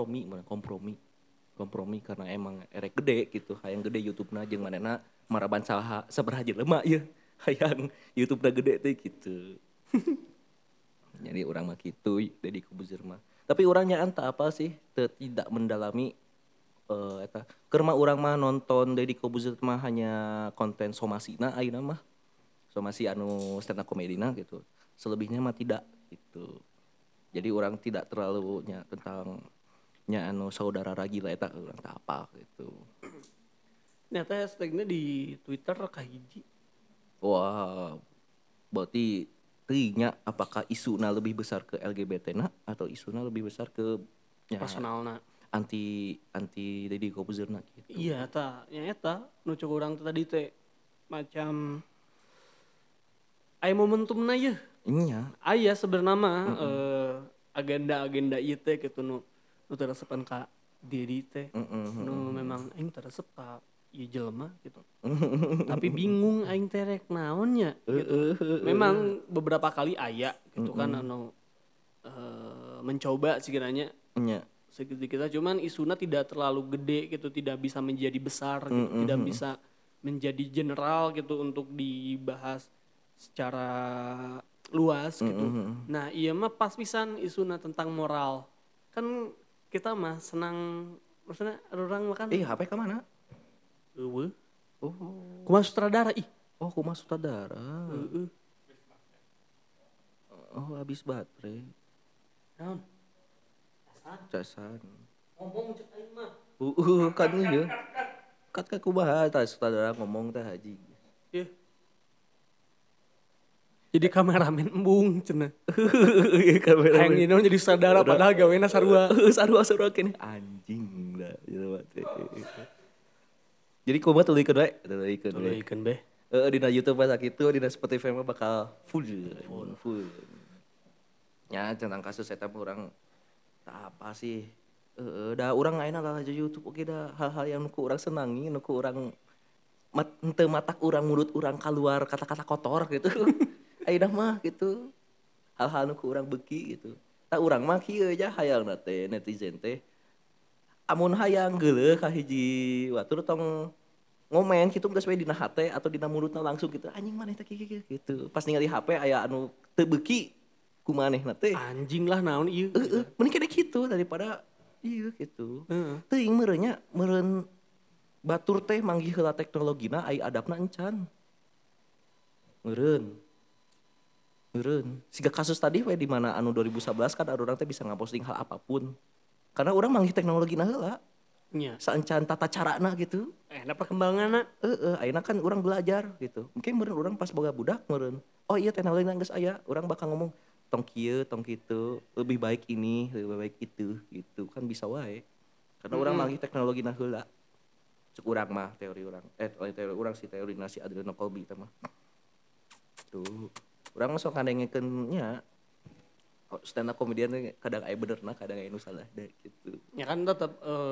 kompromi karena emang erek gede gitu hayang gede YouTube-na jeung manehna maraban sabaraha jelema ieu hayang YouTube-na gede teh gitu Jadi orang mah gitu Deddy Corbuzier mah. Tapi orangnya anta apa sih tidak mendalami eta keur mah urang mah nonton Deddy Corbuzier mah hanya konten somasina ayeuna mah. Somasi anu stand up komedina gitu. Selebihnya mah tidak gitu. Jadi orang tidak terlalu nya tentang nya anu saudara Ragila eta urang teh apa gitu. Ternyata hashtagnya di Twitter kahiji. Wah, berarti teuingnya apakah isuna lebih besar ke LGBT-na atau isuna lebih besar ke ya, Personalna. anti Deddy Corbuzier-na gitu. Iya eta nu cuk urang tadi teh macam aya momentumna ye. Iya. Aya sebenarnya mah agenda-agenda ieu teh kitu nu teresepan ka diri teh. Nu memang aing teresep ka ieu jelema gitu. Tapi bingung aing teh rek naonnya gitu. Memang beberapa kali aya gitu kan anu mencoba sekiranya Iya. sedikit cuman isuna tidak terlalu gede gitu, tidak bisa menjadi besar gitu, tidak bisa menjadi general gitu untuk dibahas secara luas gitu. Nah, iya mah pas pisan isuna tentang moral. Kan kita mah senang maksudnya orang makan HP ke mana? eueuh. Oh. Kumaha sutradara ih. Oh, kumaha sutradara. Heeh. Oh, habis baterai. Naon? Casan. Ngomong cek aing mah. Kan ieu. Kat kumaha tah sutradara ngomong teh haji. Ieu. Jadi kameramen embung cenah. Kamera. Hayang nyeun jadi sutradara padahal gawena sarua. Sarua kene anjing lah gitu mah. Jadi kumaha tulikeun we, tulikeun we. Tulikeun beh. Dina YouTube mah sakitu, dina Spotify mah bakal full. Ya tentang kasus eta mah urang tah apa sih? Da urang ayeuna lah YouTube oge da hal-hal yang nuku urang senangi, nuku urang henteu matak urang mulut urang kaluar kata-kata kotor gitu. Ayeuna mah gitu. Hal-hal nuku urang beuki gitu. Tah urang mah kieu aja hayangna teh netizen teh. Amun hayang geuleuh ka hiji batur tong ngomen kitu geus we dina hate atau dina mulutna langsung gitu. Anjing maneh teh kieu gitu. Pas ningali HP aya anu teu beuki ku manehna teh. Anjing lah naon ieu. Mending kene kitu daripada ieu gitu. Heeh. Teuing meureun batur teh manggih heula teknologina ai adabna encan. Meureun. Siga kasus tadi we di mana anu 2011 kan urang teh bisa ngaposting hal apapun. Karena urang manggih teknologina heula. Nya. Saencan tata carana gitu. Nah perkembanganna. Ayeuna kan urang belajar gitu. Mungkin meureun urang pas boga budak meureun. Oh iya teknologi geus aya, urang bakal ngomong tong kieu, tong kitu, lebih baik ini, lebih baik itu gitu. Kan bisa wae. Karena urang manggih teknologina heula. Cek urang mah teori urang. Teori urang sih teori nasi Adriano Colby teh mah. Tuh. Urang mah sok ngadengekeun nya stand up comedian kadang aya benerna, kadang aya nu salah deh gitu. Ya kan tetap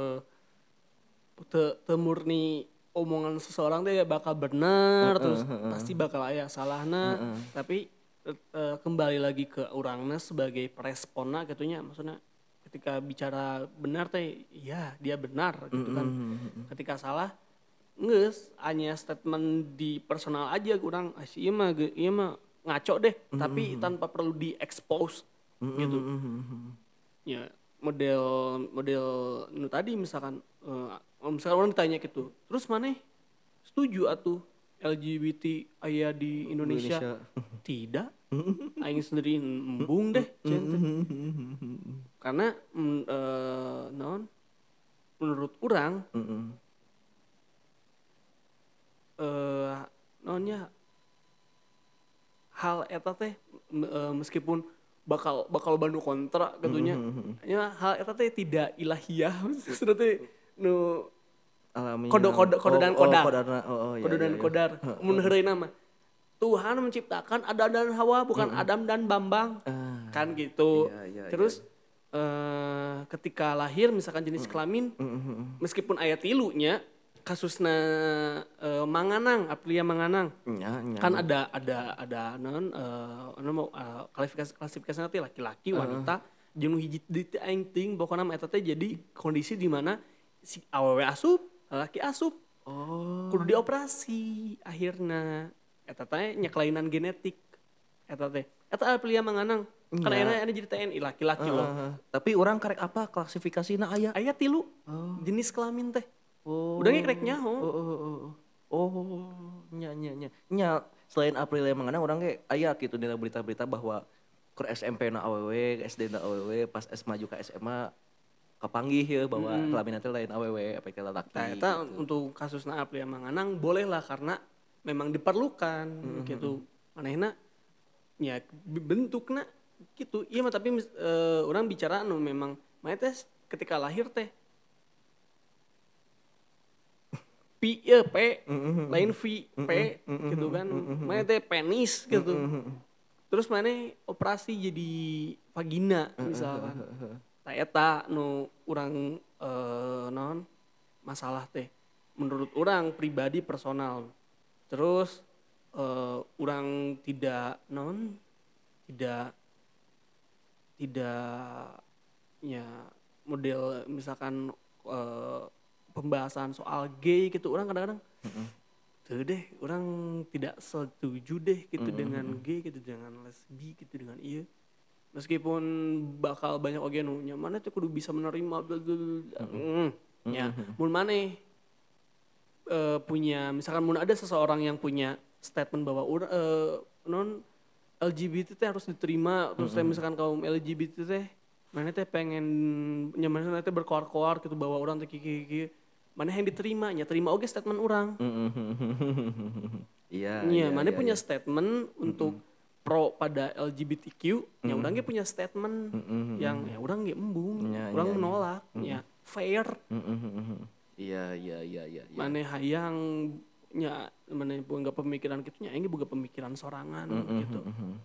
teu murni omongan seseorang teh bakal benar terus pasti bakal aya salahna tapi kembali lagi ke urangna sebagai peresponna gitunya maksudnya ketika bicara benar teh ya dia benar gitu kan. Ketika salah geus hanya statement di personal aja urang ieu mah ngaco deh tapi tanpa perlu di-expose gitu. Ya model nu tadi misalkan orang ditanya gitu terus maneh setuju atuh LGBT aya di Indonesia. Tidak aing sendiri embung deh karena naon menurut urang naonnya hal eta teh meskipun bakal bantu kontra gitunya. Ya hal eta teh tidak ilahiyah maksudna teh nu Alami kode dan kodar. Kode dan kodar. Mun heureuna mah Tuhan menciptakan Adam dan Hawa bukan Adam dan Bambang. Kan gitu. Terus ketika lahir misalkan jenis kelamin meskipun aya tilunya kasusna Manganang, Aprilia Manganang. Kan ada non klasifikasi nanti laki-laki wanita jeung hiji deui aing ting pokona mah eta teh jadi kondisi di mana si awewe asup, laki asup. Kudu dioperasi akhirna eta teh nya kelainan genetik eta teh. Eta pilih manganang. Kan Nya. ayeuna jadi TNI laki-laki loh. Tapi orang karek apa klasifikasina aya? Aya 3 jenis kelamin teh. Oh. Udah ngekrek nyaho. Nya selain April yang mengena orang ge aya gitu dina berita-berita bahwa ke SMP na awewe, SD na awewe, pas maju ke SMA kapanggih ya bahwa kelamin teh lain awewe apa ke lalaki. Nah, eta untuk kasusna April Manganang boleh lah karena memang diperlukan gitu. Manehna ya bentukna gitu. Iya mah tapi orang bicara anu memang maneh teh ketika lahir teh P lain V P gitu kan. Maneh teh penis gitu. Terus maneh operasi jadi vagina misalkan. Tah eta nu urang naon masalah teh menurut orang pribadi personal. Terus orang tidak ya model misalkan pembahasan soal gay gitu orang kadang-kadang tuh deh orang tidak setuju deh gitu dengan gay gitu dengan lesbi gitu dengan iya meskipun bakal banyak oge nu nya mana tuh kudu bisa menerima ya mun maneh punya misalkan mun ada seseorang yang punya statement bahwa non LGBT teh harus diterima terus teh misalkan kaum LGBT teh mana teh pengen nyaman teh berkoar-koar gitu bahwa orang teh kiki mana yang diterima nya terima oge statement orang Iya. mana punya statement untuk pro pada LGBTQ nya orang ge punya statement yang ya orang ge embung orang menolak ya fair Iya. mana hayang nya mana boga pemikiran gitu nya aing boga pemikiran sorangan gitu.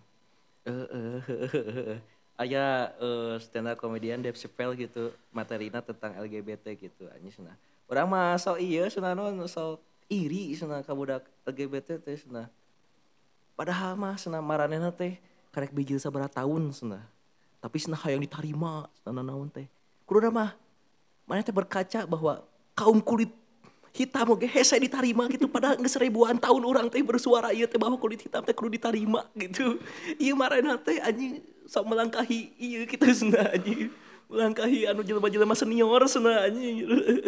Aya stand up comedian Dave Chappelle gitu materina tentang LGBT gitu anjing cenah. Urang mah sok ieu cenah naon sok iri cenah ka budak LGBT teh cenah. Padahal mah cenah maranehna teh karek bijil sabaraha taun cenah. Tapi cenah hayang ditarima cenah naon teh. Kuduna mah maneh teh berkaca bahwa kaum kulit hitam oge hese ditarima gitu padahal geus ribuan tahun orang teh bersuara ieu teh bahwa kulit hitam teh kudu ditarima gitu. Ieu marana teh anjing sok melangkahi ieu kitu cenah anjing. Melangkahi anu jelema-jelema senior cenah anjing.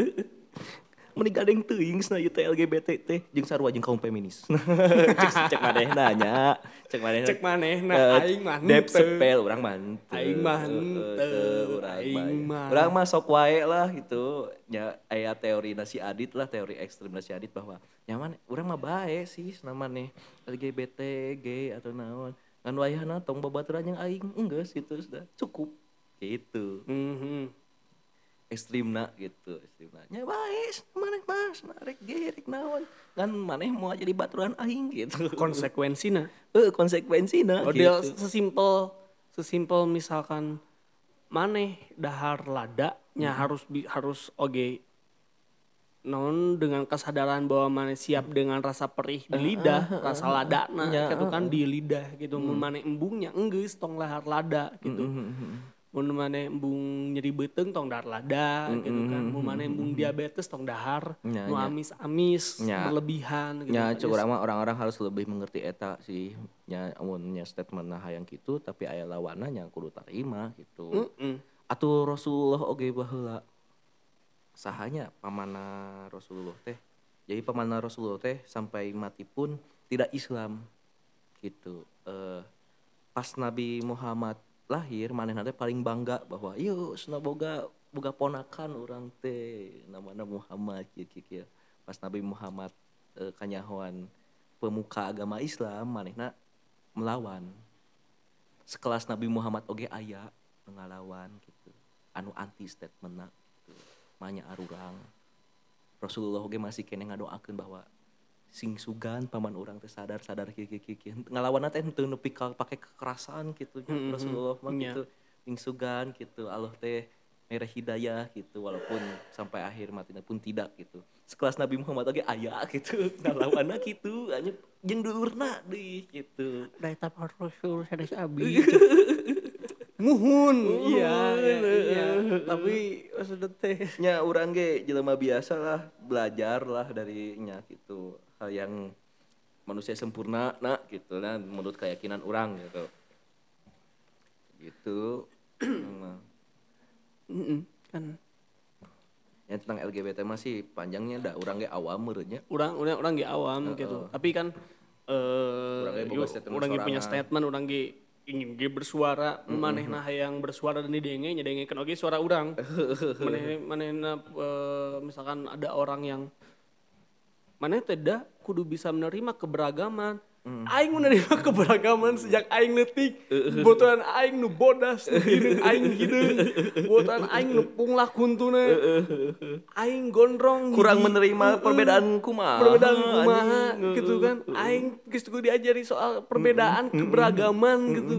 Meni gadeng teuing cenah ieu teh LGBT teh jeung sarua jeung kaum feminis. cek manehna nya. Cek manehna aing mah Dep sepel urang mah henteu. Aing mah henteu. Urang mah sok wae lah gitu. Nya aya teori si Adit lah, teori ekstrem si Adit bahwa nyaman urang mah bae sih namanya LGBT, gay atau naon. Ngan wayahna tong babaturan yang aing enggeus gitu sudah cukup gitu. Ekstrimna gitu ekstrimna baik maneh mas rek ge rek naon kan maneh mau jadi baturan aing gitu Konsekuensina konsekuensina model gitu. sesimpel misalkan maneh dahar lada nya harus oge non dengan kesadaran bahwa maneh siap dengan rasa perih di lidah rasa ladana gitu kan di lidah gitu mun maneh embungnya enggeus tong lahar lada gitu mun maneh embung nyeri beuteung tong dahar lada gitu kan mun maneh embung diabetes tong dahar nu amis-amis berlebihan gitu nya cuk urang mah orang-orang harus lebih mengerti eta sih nya amunnya statement hayang kitu tapi aya lawanna nya kudu tarima gitu atuh Rasulullah oge baheula sahanya pamanna Rasulullah teh jadi pamanna Rasulullah teh sampai mati pun tidak Islam gitu pas Nabi Muhammad lahir manehna teh paling bangga bahwa ieu cenah boga ponakan urang teh namana Muhammad kieu pas Nabi Muhammad kanyahoan pemuka agama Islam manehna melawan sekelas Nabi Muhammad oge aya ngalawan gitu anu anti statementna gitu manya arurang Rasulullah oge masih keneh ngadoakeun bahwa sing sugan paman urang teh sadar kieu ngalawanna teh teu nepi ka pake kekerasan gitu Rasulullah mah gitu sing sugan gitu Allah teh mere hidayah gitu walaupun sampai akhir matinya pun tidak gitu sekelas Nabi Muhammad oge aya gitu ngalawanna gitu anya jeung dulurna deui gitu da eta Rasul sanes abi muhun iya tapi maksudna teh nya urang ge jelema biasa lah belajar lah dari nya gitu hal yang manusia sempurna nah gitu nah menurut keyakinan orang gitu gitu. Memang. Kan Yang tentang LGBT masih panjangnya dah urang ge awam meureunnya. orang ge awam gitu. Tapi kan Urang ge boga statement orang ge punya sorangan. statement, orang ge ingin ge bersuara, manehna hayang bersuara dan nyedengekeun oge suara urang. Manehna misalkan ada orang yang maneh teh da kudu bisa menerima keberagaman. Aing menerima keberagaman sejak aing leutik. Botolan aing nu bodas, nu hideung aing hideung. Botolan aing nu punglah kuntuna. Aing gondrong Kurang hiji, menerima perbedaan kumaha. perbedaan kumaha anjing. gitu kan. Aing geus kudu diajari soal perbedaan keberagaman gitu.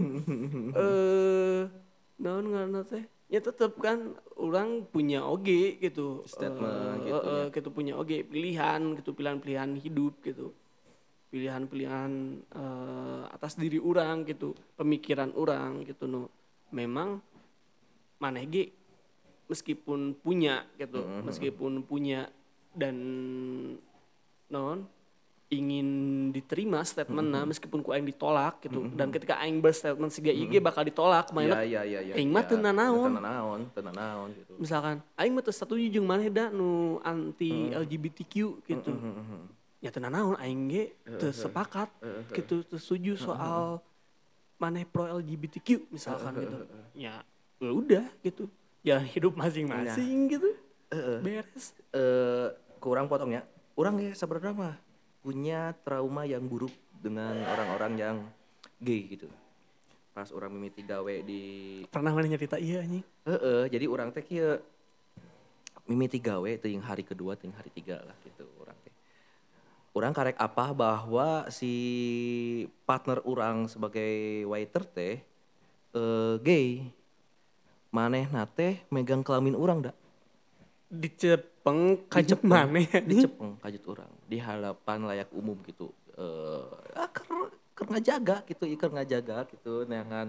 Naon ngaranna teh? Ya tetep kan orang punya oge gitu. Statement gitu ya. Gitu punya oge pilihan gitu, pilihan-pilihan hidup gitu. Pilihan-pilihan atas diri orang gitu, pemikiran orang gitu no. Memang maneh ge meskipun punya gitu, meskipun punya dan non ingin diterima statementna meskipun ku aing ditolak gitu. Dan ketika aing berstatement siga IG bakal ditolak kumaha Ya. aing mah teu nanaon. Teu nanaon gitu. Misalkan aing mah teu setuju jeung maneh da nu anti LGBTQ gitu. Ya teu nanaon aing ge teu sepakat gitu, teu setuju soal maneh pro LGBTQ misalkan gitu. Ya udah gitu. Ya hidup masing-masing gitu. Beres. Kurang potongnya. Urang ge sebenarnya mah punya trauma yang buruk dengan orang-orang yang gay gitu. Pas orang mimiti gawe di Pernah maneh nyerita iya anjing. jadi orang teh kieu mimiti gawe teuing hari kedua teuing hari tiga lah gitu orang teh. Urang karek apa bahwa si partner orang sebagai waiter teh gay. Manehna teh megang kelamin urang da. Dicepeng kajep maneh. Dicepeng kajut orang di hadapan layak umum gitu. Keur ngajaga gitu, keur ngajaga gitu neangan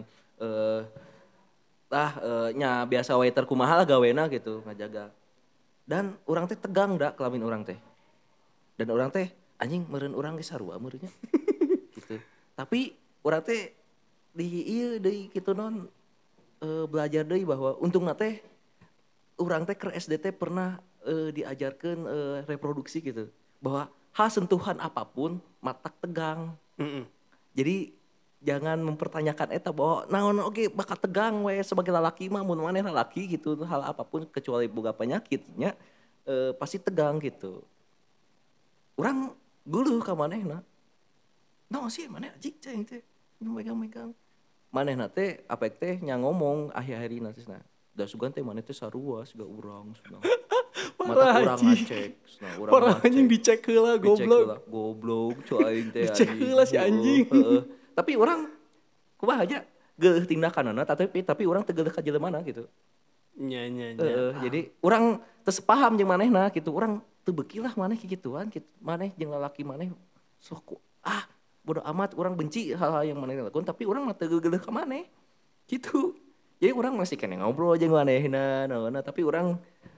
nya biasa waiter kumaha lah gawena gitu ngajaga. Dan orang teh tegang da kelamin orang teh. Dan orang teh anjing meureun urang ge sarua meureunnya. Gitu. Tapi orang teh di ieu deui kitu non belajar deui bahwa untungna teh urang teh keur SD teh pernah diajarkeun reproduksi gitu. Bahwa sentuhan apapun matak tegang. Jadi jangan mempertanyakan eta bahwa naon oge bakal tegang we sebagai lalaki mah mun maneh lalaki gitu hal apapun kecuali boga penyakitnya pasti tegang gitu. Urang guluh ka manehna. Naon sih maneh anjing cing teh megang-megang. Manehna teh apek teh nya ngomong akhir-akhirina teh da sugan teh maneh teh sarua siga urang cenah. Mata urang ngacek, cenah urang Parah ngacek. anjing dicek heula goblok. Goblok cu aing teh Dicek heula si anjing. Tapi urang kumaha aja geuleuh tindakanna tapi urang teu geuleuh ka jeleumana gitu. Nya. Jadi urang teu sepaham jeung manehna gitu. Urang teu beuki lah maneh kigituan gitu. Maneh jeung lalaki maneh sok bodo amat urang benci hal-hal yang maneh lakukan tapi urang mah teu geuleuh ka maneh. Gitu. Jadi urang masih kene ngobrol jeung manehna naonna tapi urang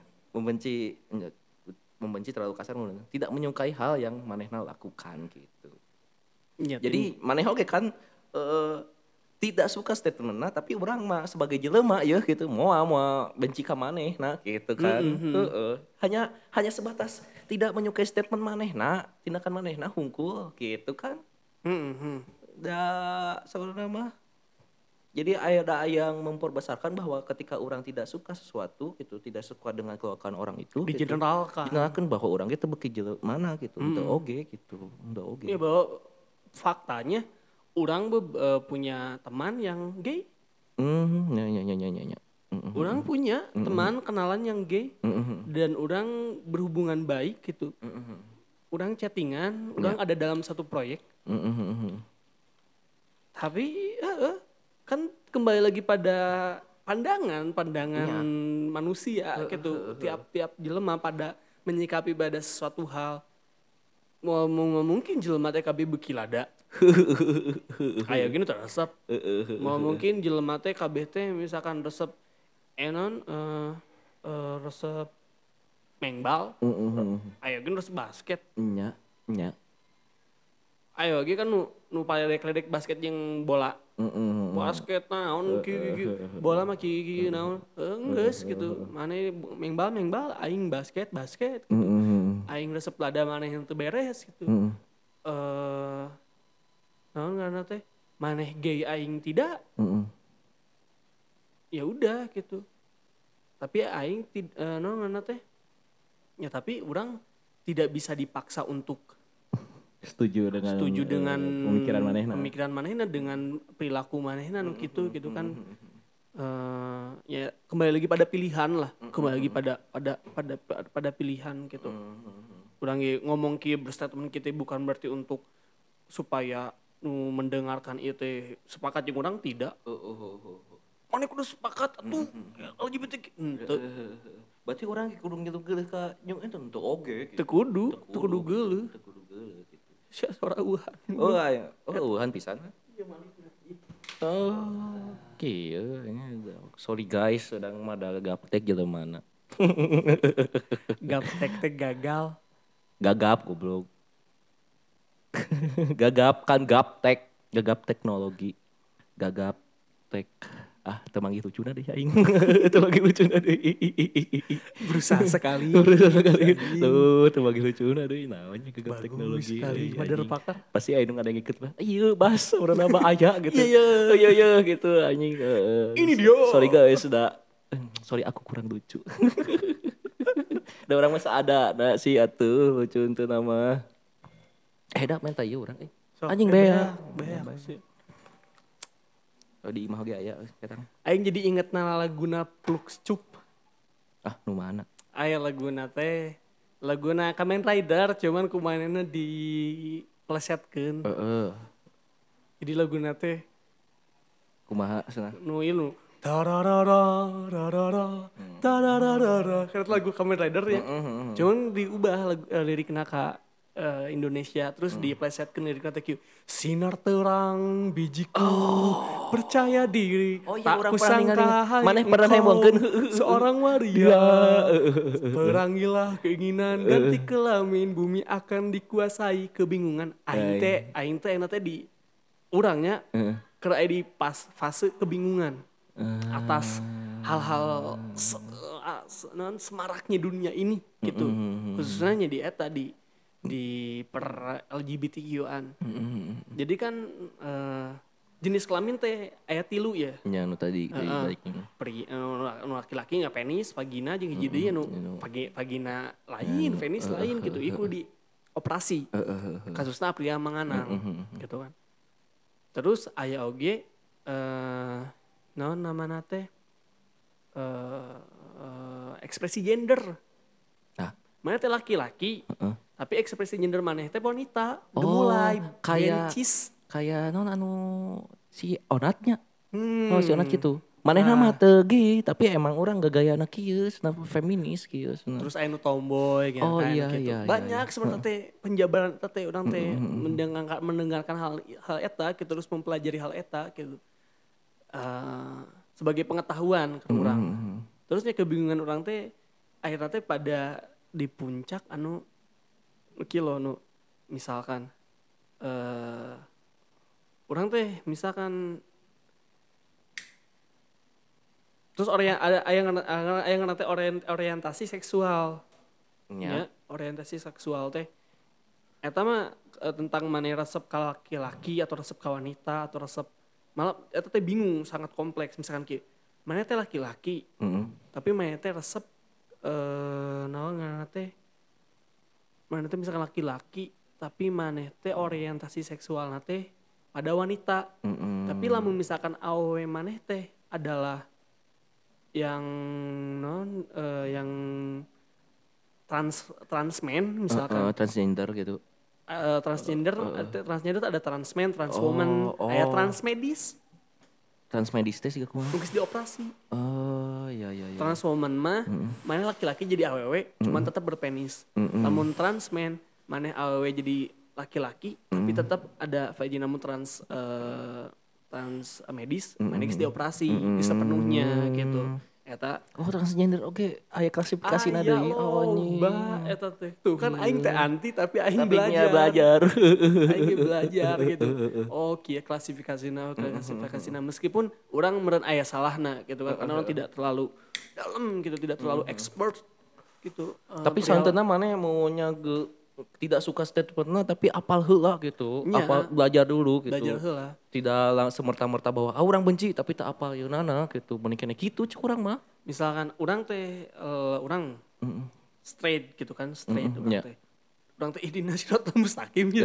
membenci terlalu kasar tidak menyukai hal yang manehna lakukan gitu. Nya, Jadi maneh oge kan tidak suka statementna tapi urang mah sebagai jelema ya gitu moal benci ka manehna gitu kan. Hanya sebatas tidak menyukai statement manehna, tindakan manehna hungkul gitu kan. Da sebenarnya mah jadi ada yang memperbesarkan bahwa ketika orang tidak suka sesuatu gitu, tidak suka dengan kelakuan orang itu di gitu. generalkan. Dijelaskan bahwa orang itu beki mana gitu, henteu oge gitu, henteu oge. Ya bahwa faktanya orang punya teman yang gay. Ya. Orang punya teman kenalan yang gay dan orang berhubungan baik gitu. Orang chattingan, orang ada dalam satu proyek. Tapi kan kembali lagi pada pandangan manusia gitu. Tiap jelema pada menyikapi pada sesuatu hal. Mau mungkin jelema teh kabeh beuki lada. Aya gini resep. Mau mungkin jelema teh kabeh teh misalkan resep resep mengbal. Aya gini resep basket. Nya. Ayo ge kan nu nu paledek-ledek basket jeung bola. Basket naon kieu bola mah kieu naon geus gitu. Mane main bal aing basket gitu. Aing resep lada maneh teu beres gitu. Naon ngaranna teh? Maneh gay aing tidak. Ya udah gitu. Tapi aing naon ngaranna teh? Ya tapi orang tidak bisa dipaksa untuk setuju dengan pemikiran manehna dengan perilaku manehna nu gitu kan. Ya kembali lagi pada pilihan lah, kembali lagi pada pilihan gitu. Urang ngomong kieu berstatement kita bukan berarti untuk supaya nu mendengarkan ieu teh sepakat jeung urang tidak. Mana kudu sepakat atuh LGBTQ. Berarti orang kudu ngitung geuleuh ka jeung eta teu oge Teu kudu geuleuh. Gitu. Sia sora Wuhan. Oh aya. Wuhan pisan. Oh, kieu sorry guys, sedang modal gaptek jeleumana. Gaptek teh gagal. Gagap goblok. Gagap kan gaptek, gagap teknologi. Gagap tek. Teu manggih lucuna deh aing. Teu manggih lucuna deh. Berusaha sekali. Teu manggih lucuna deh. Naon nya gagap teknologi. Sekali padahal pakar. Pasti aya nu ngadengikeun mah. Ieu bas urang mah aya gitu. Iya gitu anjing. Ini dia. Sorry guys sudah. Sorry aku kurang lucu. Da urang mah ada sih atuh lucu teu nama. Da main ieu urang anjing beak. Di imah ge aya ketang. Aing jadi inget laguna Flux Cup. Nu mana? Aya laguna teh. Laguna Kamen Rider cuman kumanehna diplesetkeun. Jadi laguna teh kumaha cenah? Nu ieu tararara kan lagu Kamen Rider ya. Cuman diubah lirikna ka Indonesia terus diplesetkeun lirikna teh sinar terang bijiku percaya diri tak kusangka maneh pernah nemongkeun seorang waria perangilah keinginan ganti kelamin bumi akan dikuasai kebingungan aing teh di urangnya keur aya di fase kebingungan atas hal-hal semaraknya dunia ini gitu khususnya di eta di per LGBTQ-an. Jadi kan jenis kelamin teh aya 3 ya. Nya nu tadi Nu laki-laki nya penis, vagina jeung hiji deui nu vagina lain, penis lain gitu. Iku di operasi. Kasusna pria manganang gitu kan. Terus aya oge naon namana teh ekspresi gender. Mana teh laki-laki. Tapi ekspresi gender maneh teh wanita. Mulai kayak non si Onatnya. Si Onat gitu. Manehna mah teu ge, tapi emang orang gagayana kieu, feminis kieu. Terus aya nu tomboy gitu kan gitu. Banyak seperti teh penjabaran teh urang teh mendengarkan hal eta gitu terus mempelajari hal eta gitu. Sebagai pengetahuan ke urang. Terusnya kebingungan urang teh akhirnya teh pada di puncak misalkan urang teh misalkan terus aya nanti orientasi seksual ya orientasi seksual teh eta mah tentang maneh resep ka laki-laki atau resep ka wanita atau resep malah eta teh bingung sangat kompleks misalkan kieu maneh teh laki-laki tapi maneh teh resep naon ngaranna teh maneh teh misalkan laki-laki tapi maneh teh orientasi seksualna teh pada wanita. Tapi lamun misalkan awewe maneh teh adalah yang yang transmen misalkan transgender gitu. Transgender ada transmen, transwoman, aya transmedis. Transmedis teh siga kumaha? Geus dioperasi. Iya. Transwoman mah maneh laki-laki jadi awewe cuman tetap berpenis. Namun transmen maneh awewe jadi laki-laki tapi tetap ada vagina trans medis maneh geus dioperasi sepenuhnya gitu. Eta Oh transgender oke aya klasifikasina aya deui oh loba anjing. eta teh. Tuh kan aing teh anti tapi aing Tapi nya belajar. belajar. Aing ge belajar gitu. Oh kieu klasifikasina meskipun orang meureun aya salahna gitu kan karena orang tidak terlalu dalam gitu, tidak terlalu expert gitu. Tapi Perihal santeuna maneh maunya tidak suka statementna tapi apal heula gitu. Apal nya belajar dulu belajar gitu. heula. Tidak semerta-merta bahwa urang benci tapi tak apal yeunana gitu. Mending keneh kitu cek urang mah. Misalkan orang teh orang straight gitu kan, straight orang Nya. teh. Orang teh ihdina siratal mustaqim ya.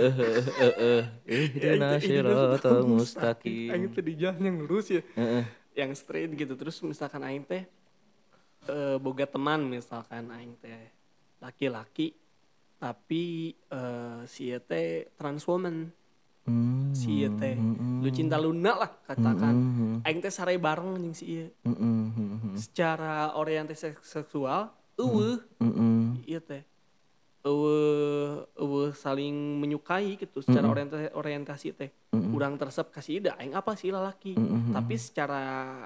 Ya itu Ihdina ihdina siratal siratal mustaqim. Aing mustaqim. teh di jalan yang lurus ya. Heeh. Yang straight gitu. Terus misalkan aing teh boga teman misalkan aing teh laki-laki tapi si ieu teh trans woman. Si ieu teh Lucinta Luna lah katakan. Aing teh sare bareng jeung si ieu. Secara orientasi seksual ieu teh saling menyukai gitu secara orientasi teh. Urang tersep kasih ida aing apa sih lalaki. Tapi secara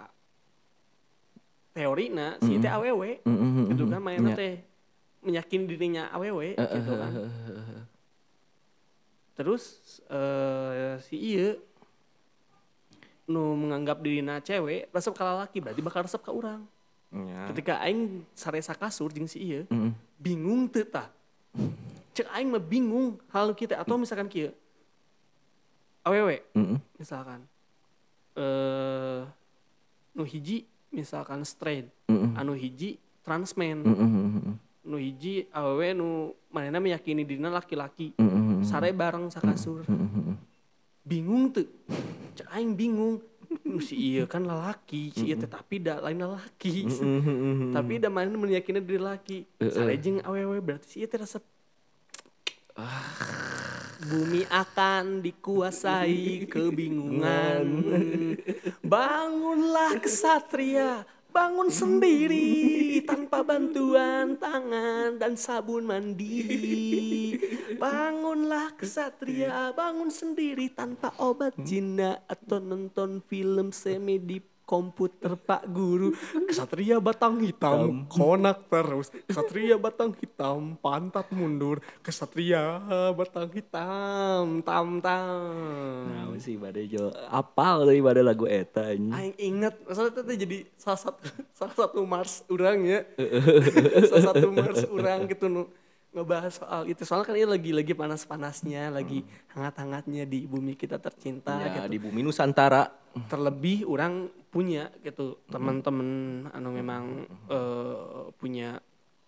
teorina si teh awewe gitu kan mainnya Nya. teh meyakin dirinya awewe gitu kan. Terus si ieu nu menganggap dirinya cewek resep ka lalaki berarti bakal resep ka urang. Nya. Ketika aing saresa kasur jeung si ieu bingung teu tah. Cek aing mah bingung hal kita atau misalkan kieu awewe misalkan nu hiji misalkan straight anu hiji transman nu hiji awewe nu manehna meyakini dirinya laki-laki sare bareng sakasur bingung tuh cek aing bingung nu si ieu kan lalaki si ieu teh tapi da lain lalaki tapi da manehna meyakini diri laki sare jeung awewe berarti si ieu teh resep bumi akan dikuasai kebingungan. Bangunlah kesatria, bangun sendiri tanpa bantuan tangan dan sabun mandi. Bangunlah kesatria, bangun sendiri tanpa obat jina atau nonton film semi di komputer Pak Guru. Kesatria batang hitam, konak terus. Kesatria batang hitam, pantat mundur. Kesatria batang hitam, tam-tam. Nah, sih bade jo apal deui bade lagu eta anjing. Aing inget, maksudnya itu jadi salah satu Mars orang ya. Salah satu Mars orang gitu ngebahas soal itu. Soalnya kan ini lagi panas-panasnya, lagi hangat-hangatnya di bumi kita tercinta Ya, gitu. di bumi Nusantara. Terlebih orang punya gitu teman-teman anu memang punya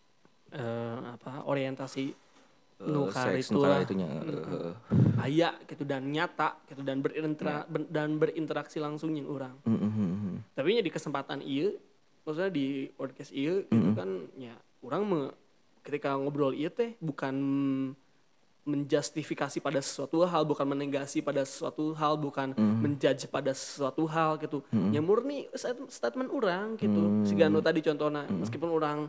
orientasi nu Seks itu lah itunya. aya gitu dan nyata gitu dan berinteraksi langsung yang orang. Tapi nya di kesempatan ieu maksudnya di podcast ieu gitu kan ya orang ketika ngobrol ieu teh bukan menjustifikasi pada sesuatu hal, bukan menegasi pada sesuatu hal, bukan menjudge pada sesuatu hal gitu. Ya murni statement orang gitu. Siga anu tadi contohnya, meskipun orang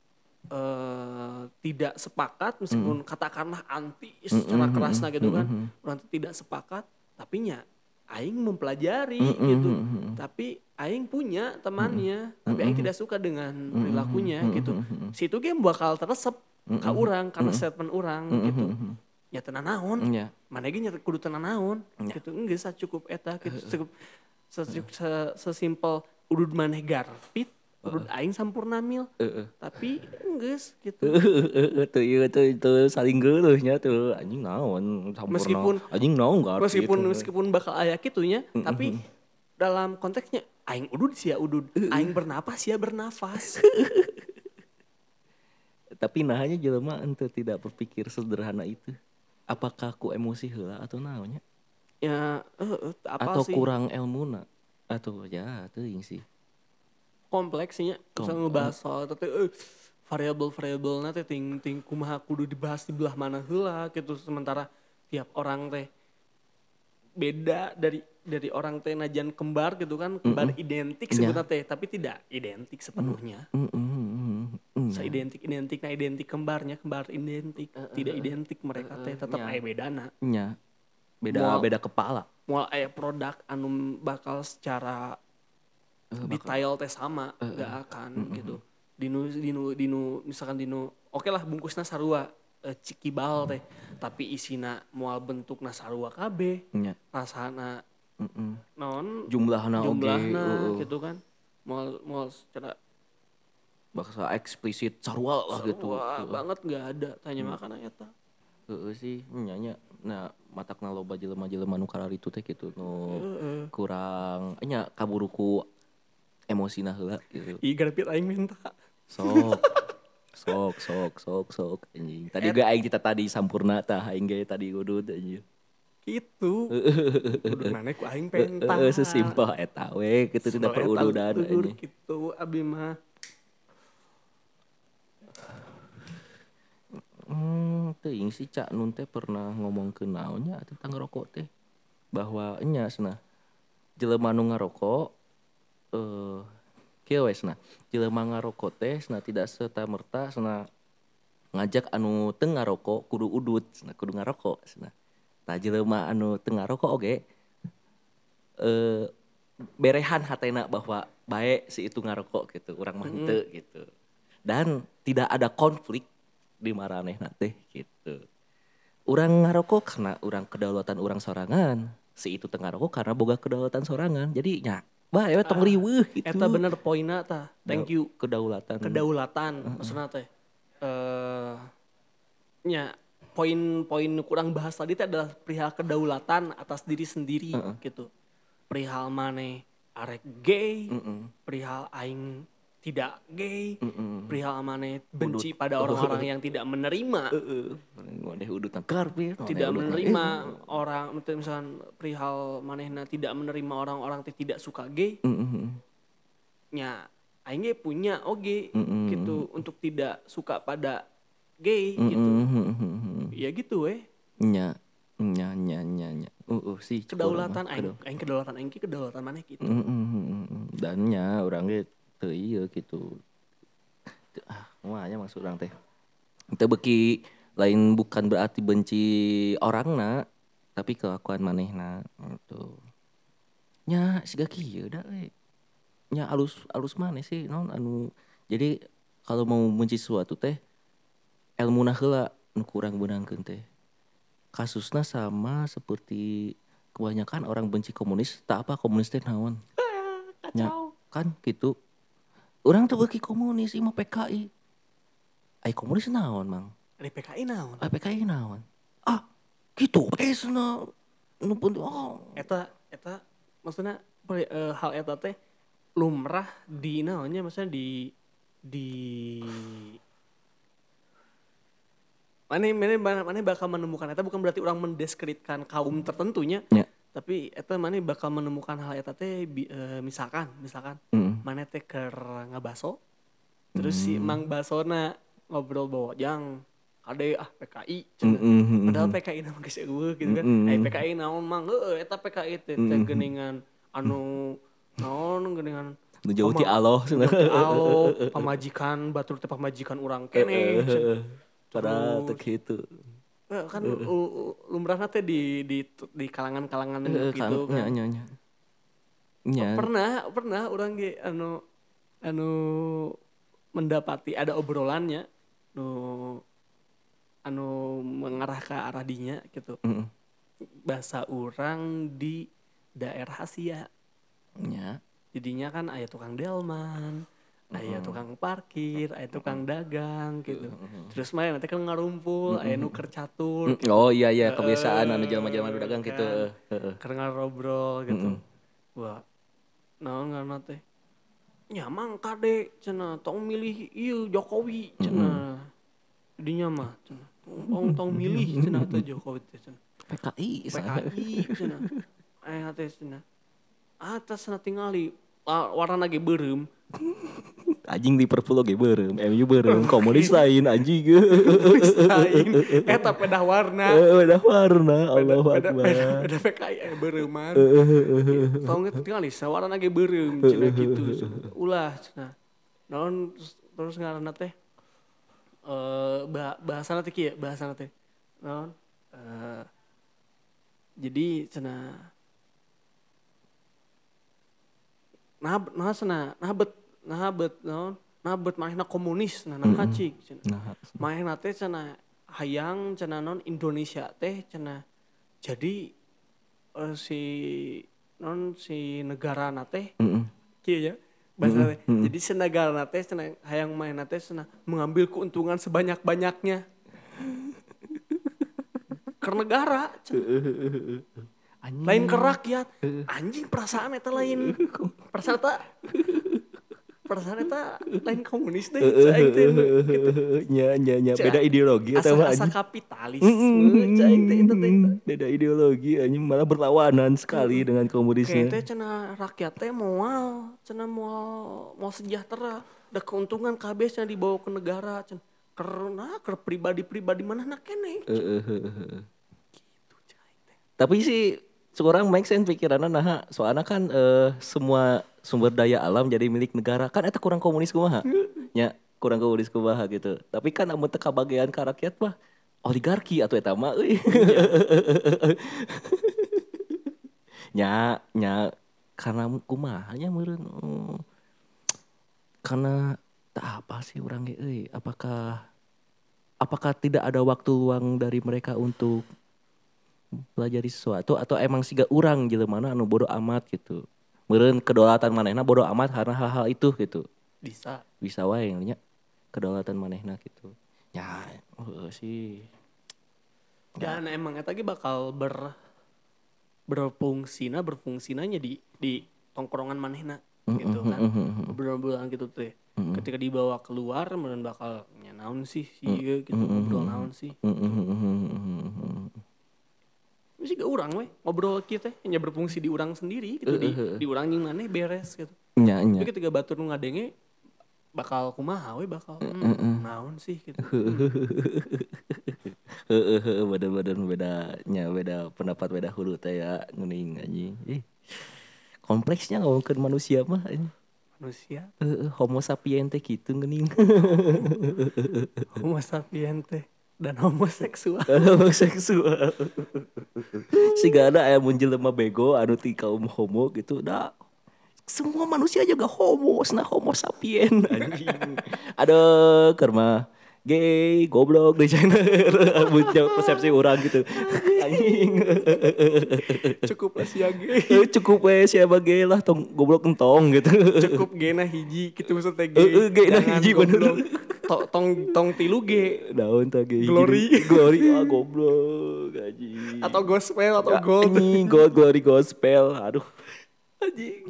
tidak sepakat, meskipun katakanlah anti secara kerasnya gitu kan, orang tidak sepakat, tapi nya aing mempelajari gitu. Tapi aing punya temannya, tapi aing tidak suka dengan perilakunya gitu. Situ game bakal teresep ka urang karena statement urang gitu. Ya tenan naon, mana ge nya kudu tenan naon gitu. Enggeus cukup eta gitu. Cukup sesimpel udud maneh garpit, udud aing sampurna mil. Tapi enggeus gitu. Tuh ieu tuh saling geuleuhnya tuh anjing naon sampurna. Anjing naon garpit. Meskipun bakal aya kitunya, tapi dalam konteksnya aing udud sia udud, aing bernapas sia bernafas. Tapi nahanya jelema ente tidak berpikir sederhana itu. Apakah ku emosi heula atau naonnya? Ya, apa atau sih? kurang ilmuna atau ya teuing sih. Kompleksnya bisa ngebahas soal tapi variabel-variabelna teh ting kumaha kudu dibahas di belah mana heula gitu sementara tiap orang teh beda dari orang teh najan kembar gitu kan kembar identik sebenarnya teh tapi tidak identik sepenuhnya. Seidentik kembarnya kembar identik tidak identik mereka teh tetap aya bedana. Nya. Beda kepala. Moal aya produk anu bakal secara detail teh sama, nggak akan gitu. Dinu misalkan oke lah bungkusna sarua cikibal teh, tapi isina moal bentukna sarua kabeh, Nya. rasana non Jumlahna oge gitu kan. Moal secara bahasa eksplisit sarua lah gitu. sarua banget nggak ada tanya makan eta. Sih nya nah matakna loba jelema-jelema nu kararitu teh kitu nu kurang nya kaburuku emosina heula gitu. Ih garapit aing minta. Sok anjing. Tadi ge aing kita tadi sampurna tah aing ge tadi udud anjing. Gitu. Kudu maneh ku aing penta. Sesimpel eta we kitu tidak perududan anjing. Gitu abi mah. Teuing si Cak Nun teh pernah ngomong ke naonnya tentang ngerokok teh. Bahwa nya cenah jelema nu ngarokok kieu we cenah. Jelema ngarokok teh cenah tidak serta-merta cenah ngajak anu teu ngarokok kudu udud cenah kudu ngarokok cenah. Tah jelema anu teu ngarokok oge berehan hatena bahwa bae si itu ngarokok gitu, urang mah henteu gitu. Dan tidak ada konflik di maranehna teh gitu. Urang ngarokok karena urang kedaulatan urang sorangan, si itu teu ngarokok karena boga kedaulatan sorangan. Jadi nya bae we tong riweuh gitu. Eta bener poinna tah. Thank you. Kedaulatan. Maksudna teh nya poin-poin kurang bahas tadi teh adalah perihal kedaulatan atas diri sendiri gitu. Perihal maneh arek gay, perihal aing tidak gay, perihal maneh benci pada orang-orang yang tidak menerima. Ngodeh udut karpet. Tidak menerima orang, misalkan perihal manehna tidak menerima orang-orang yang tidak suka gay. Nya aing ge punya oge gitu untuk tidak suka pada gay gitu. Ya gitu weh. Nya sih Kedaulatan aing kedaulatan aing ki kedaulatan maneh gitu. Dan nya urang ge teu ieu gitu. Moal nya maksud urang teh. Teu beuki lain bukan berarti benci orangna, tapi kelakuan manehna gitu. Nya siga kieu da we. Nya alus maneh sih naon anu. Jadi kalau mau benci sesuatu teh elmuna heula nu kurang beunangkeun teh. Kasusna sama seperti kebanyakan orang benci komunis, tak apa komunis teh naon. Kacau. Kan gitu. Urang teu beuki komunis, ieu mah PKI. Ai komunis naon, Mang? Ari PKI naon? Ai PKI naon? Ah, gitu. Esna nu penting Eta maksudna hal eta teh lumrah di naonnya maksudnya di Maneh bakal menemukan eta bukan berarti orang mendeskripsikan kaum tertentunya. Ya. Tapi eta maneh bakal menemukan hal eta teh misalkan maneh teh keur ngabaso. Terus si Mang Basona ngobrol bawajang kade PKI cenah. Padahal PKI nama geus eueuh gitu kan. PKI naon Mang? Heueuh eta PKI teh geuningan anu naon geuningan nu jauh ti Allah cenah. Pamajikan batur teh pamajikan urang keneh cenah. Padahal teu kitu. Kan lumrahna teh di kalangan-kalangan gitu kan. Nya. Pernah orang ge anu mendapati ada obrolannya anu mengarah ke arah dinya gitu. Bahasa orang di daerah Asia. Nya. Jadinya kan aya tukang delman, aya tukang parkir, aya tukang dagang gitu. Terus main nanti kan ngarumpul, aya nuker catur. Gitu. Oh iya kebiasaan anu jelema-jelema dagang gitu. Keur ngarobrol gitu. Wah. Naon ngaranna teh? Nyamang kade cenah tong milih ieu Jokowi cenah. Dinya mah cenah. Tong milih cenah teh Jokowi teh cenah. PKI cenah. Aya teh cenah. Atas cenah tingali warna ge beureum. Anjing Liverpool oge beureum, MU beureum, komunis lain anjing. Komunis lain. Eta pedah warna. Pedah warna, Allahu Akbar. Pedah PKI beureuman. Tong tingali sawarna ge beureum cenah gitu. Ulah cenah. Naon terus ngaranna teh bahasana teh kieu, bahasana teh. Naon? Jadi cenah nabet manehna komunis cik cenah. Manehna teh cenah hayang cenah non Indonesia teh cenah jadi si negara teh kieu ya bahasa teh. Jadi si negara teh cenah hayang manehna teh cenah mengambil keuntungan sebanyak-banyaknya ke negara lain ke rakyat anjing perasaan eta lain perasaan eta lain komunis deh cai teh gitu nya beda ideologi eta mah asa anjing. kapitalisme cai teh itu teh Beda ideologi anjing malah berlawanan sekali dengan kayak komunisnya. teh cenah rakyat teh mau sejahtera da keuntungan kabeh cenah dibawa ke negara cenah karena ke pribadi-pribadi mana nak keneh gitu cai teh. Tapi sih seorang make sense pikiranna nah soalnya kan semua sumber daya alam jadi milik negara kan eta kurang komunis kumaha nya kurang komunis kumaha gitu tapi kan amun teu kabagean ka rakyat mah oligarki atau eta mah euy nya karena kumaha nya meureun karena tak apa sih urang ge euy apakah tidak ada waktu luang dari mereka untuk pelajari sesuatu atau emang siga urang jelemana anu bodoh amat gitu. Meureun kedaulatan manehna bodoh amat karena hal-hal itu gitu. Bisa wae nya kedaulatan manehna gitu. Ya, sih. Dan emang eta ge bakal berfungsinya di tongkrongan manehna gitu kan. Obrolan gitu teh. Ketika dibawa keluar meureun bakal nya naon sih ieu gitu ngobrol naon sih. Masih gak urang we ngobrol kita hanya berfungsi di urang sendiri gitu di urang jeung maneh beres gitu. Nya. Tapi ketika batur nu ngadenge bakal kumaha we bakal naon sih gitu. Bener-bener beda pendapat beda hulu teh ya ngeuning anjing. Kompleksnya ngomongkeun manusia mah anjing. Manusia Homo sapiens teh kitu ngeuning. Homo sapiens teh dan homoseksual. Homoseksual. Siga ada aya mun jelema bego anu ti kaum homo gitu da semua manusia juga homo, nah homo sapien anjing. Aduh, karma gay, goblok di China. Bunya persepsi orang gitu. Anjing. Cukup lah sia ge. Cukup we siapa gay lah tong goblok entong gitu. Cukup ge na hiji kitu maksudnya ge. Gay na hiji bener. Tong tilu ge. Daun teh gay. Glory. Glory goblok anjing. Atau gospel atau gold. Anjing, glory gospel. Aduh. Anjing.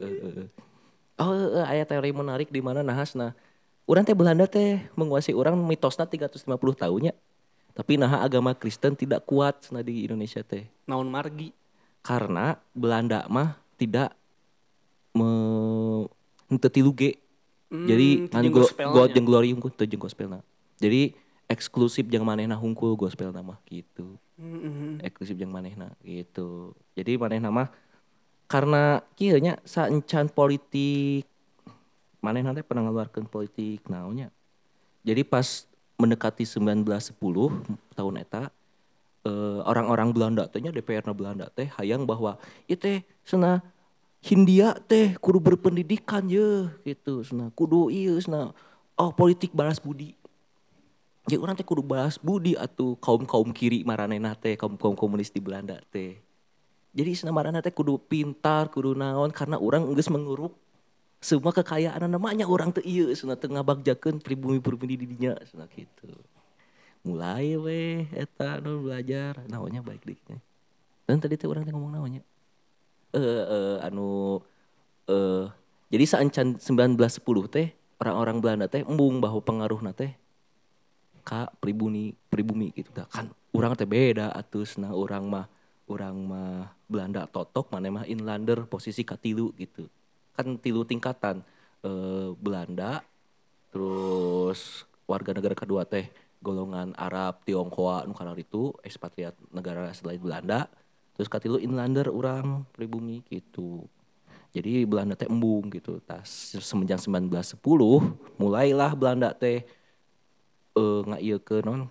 Aya teori menarik di mana nahasna. Urang teh Belanda teh menguasai orang mitosna 350 tahunnya. Tapi nah agama Kristen tidak kuat cenah di Indonesia teh. Naon margi. Karena Belanda mah tidak henteu tilu ge. Jadi anu God jeung glory hungkul teu jeung gospelna. Jadi eksklusif jeung manehna hungkul gospelna mah gitu. Eksklusif jeung manehna gitu. Jadi manehna mah karena kieu nya saencan politik manehna teh pernah ngeluarkeun politik naonnya. Jadi pas mendekati 1910 tahun eta orang-orang Belanda teh nya DPR-na Belanda teh hayang bahwa ieu teh cenah Hindia teh kudu berpendidikan ye gitu cenah kudu ieu cenah politik balas budi. Jadi urang teh kudu balas budi atuh kaum-kaum kiri maranehna teh kaum-kaum komunis di Belanda teh. Jadi cenah maranehna teh kudu pintar, kudu naon karena urang geus menguruk semua kekayaan namanya orang teu ieu cenah teu ngabagjakeun pribumi-pribumi di dinya cenah kitu. Mulai we eta nu belajar naonnya baik deui. Dan tadi teh urang teh ngomong naonnya? Jadi saencan 1910 teh orang-orang Belanda teh embung bahwa pengaruhna teh ka pribumi gitu dah kan urang teh beda atusna urang mah Belanda totok maneh mah inlander posisi katilu gitu. Kan tilu tingkatan Belanda terus warga negara kedua teh golongan Arab Tionghoa nu kana itu ekspatriat negara selain Belanda terus katilu inlander urang pribumi gitu. Jadi Belanda teh embung gitu. Tas semenjak 1910 mulailah Belanda teh ngaieukeun non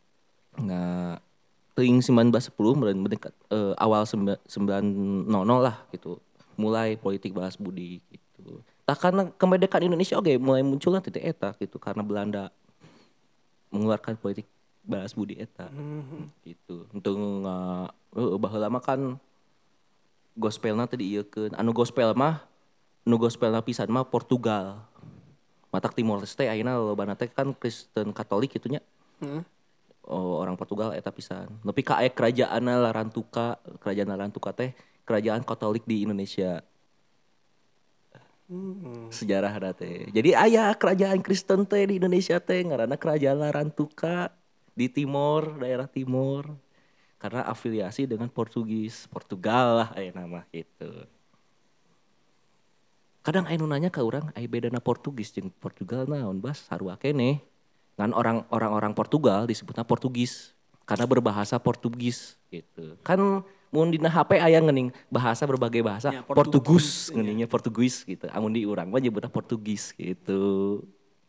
teuing 1910 mendekat awal 900 lah gitu. Mulai politik balas budi gitu. Tah karena kemerdekaan Indonesia oke mulai munculnya titik eta gitu karena Belanda mengeluarkan politik balas budi eta gitu. Untuk baheula mah kan gospelna teh diieukeun. Anu gospelna pisan mah Portugal. Matak Timor Leste ayeuna lolobana teh kan Kristen Katolik gitunya. Oh, orang Portugal eta pisan. Nepi ka aya kerajaan Larantuka teh kerajaan Katolik di Indonesia. Sejarah teh. Jadi aya kerajaan Kristen teh di Indonesia teh ngaranna kerajaan Larantuka di Timor, daerah Timor. Karena afiliasi dengan Portugal lah aya nama gitu. Kadang aya nu nanya ka urang, aya bedana Portugis jeung Portugal naon bas sarua keneh. Kan orang Portugal disebutnya Portugis karena berbahasa Portugis gitu. Kan mun dina HP aya ngeuning bahasa berbagai bahasa Ya, Portugus Portugis, ngeuningnya Portugis gitu. Amun di urang mah nyebutna Portugis gitu.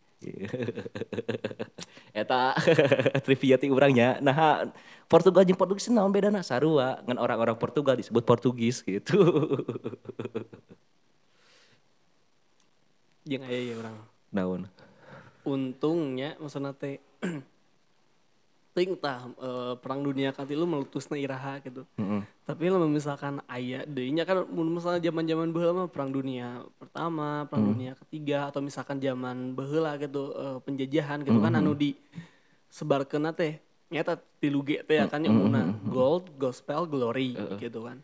Eta trivia ti urangnya. Nah, Portugal jeung Portugis naon bedana? Sarua ngan orang-orang Portugal disebut Portugis gitu. Jeung aya ya urang. Naon? Untungnya maksudna teh ting tah perang dunia katilu meletusna iraha gitu. Tapi lamun misalkan aya deui nya kan mun misalnya zaman-zaman baheula mah perang dunia pertama, perang dunia ketiga atau misalkan zaman baheula gitu penjajahan gitu kan anu di sebarkeunna teh nyata tilu G teh kan nya umumna gold, gospel, glory gitu kan.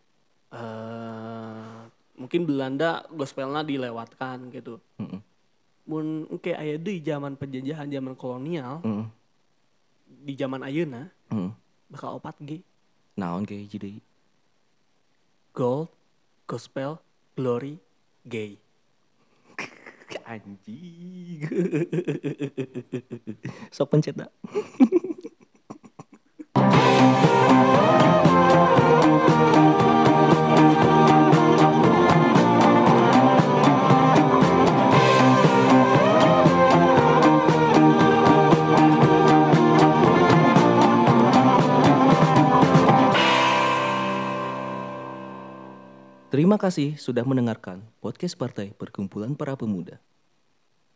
Mungkin Belanda gospelna dilewatkan gitu. Mun engke aya deui zaman penjajahan, zaman kolonial, di zaman ayeuna bakal 4G. Naon ge hiji deui? Gold, gospel, glory, gay. Anjing. Sok pencet dah. Terima kasih sudah mendengarkan podcast Partai Perkumpulan Para Pemuda.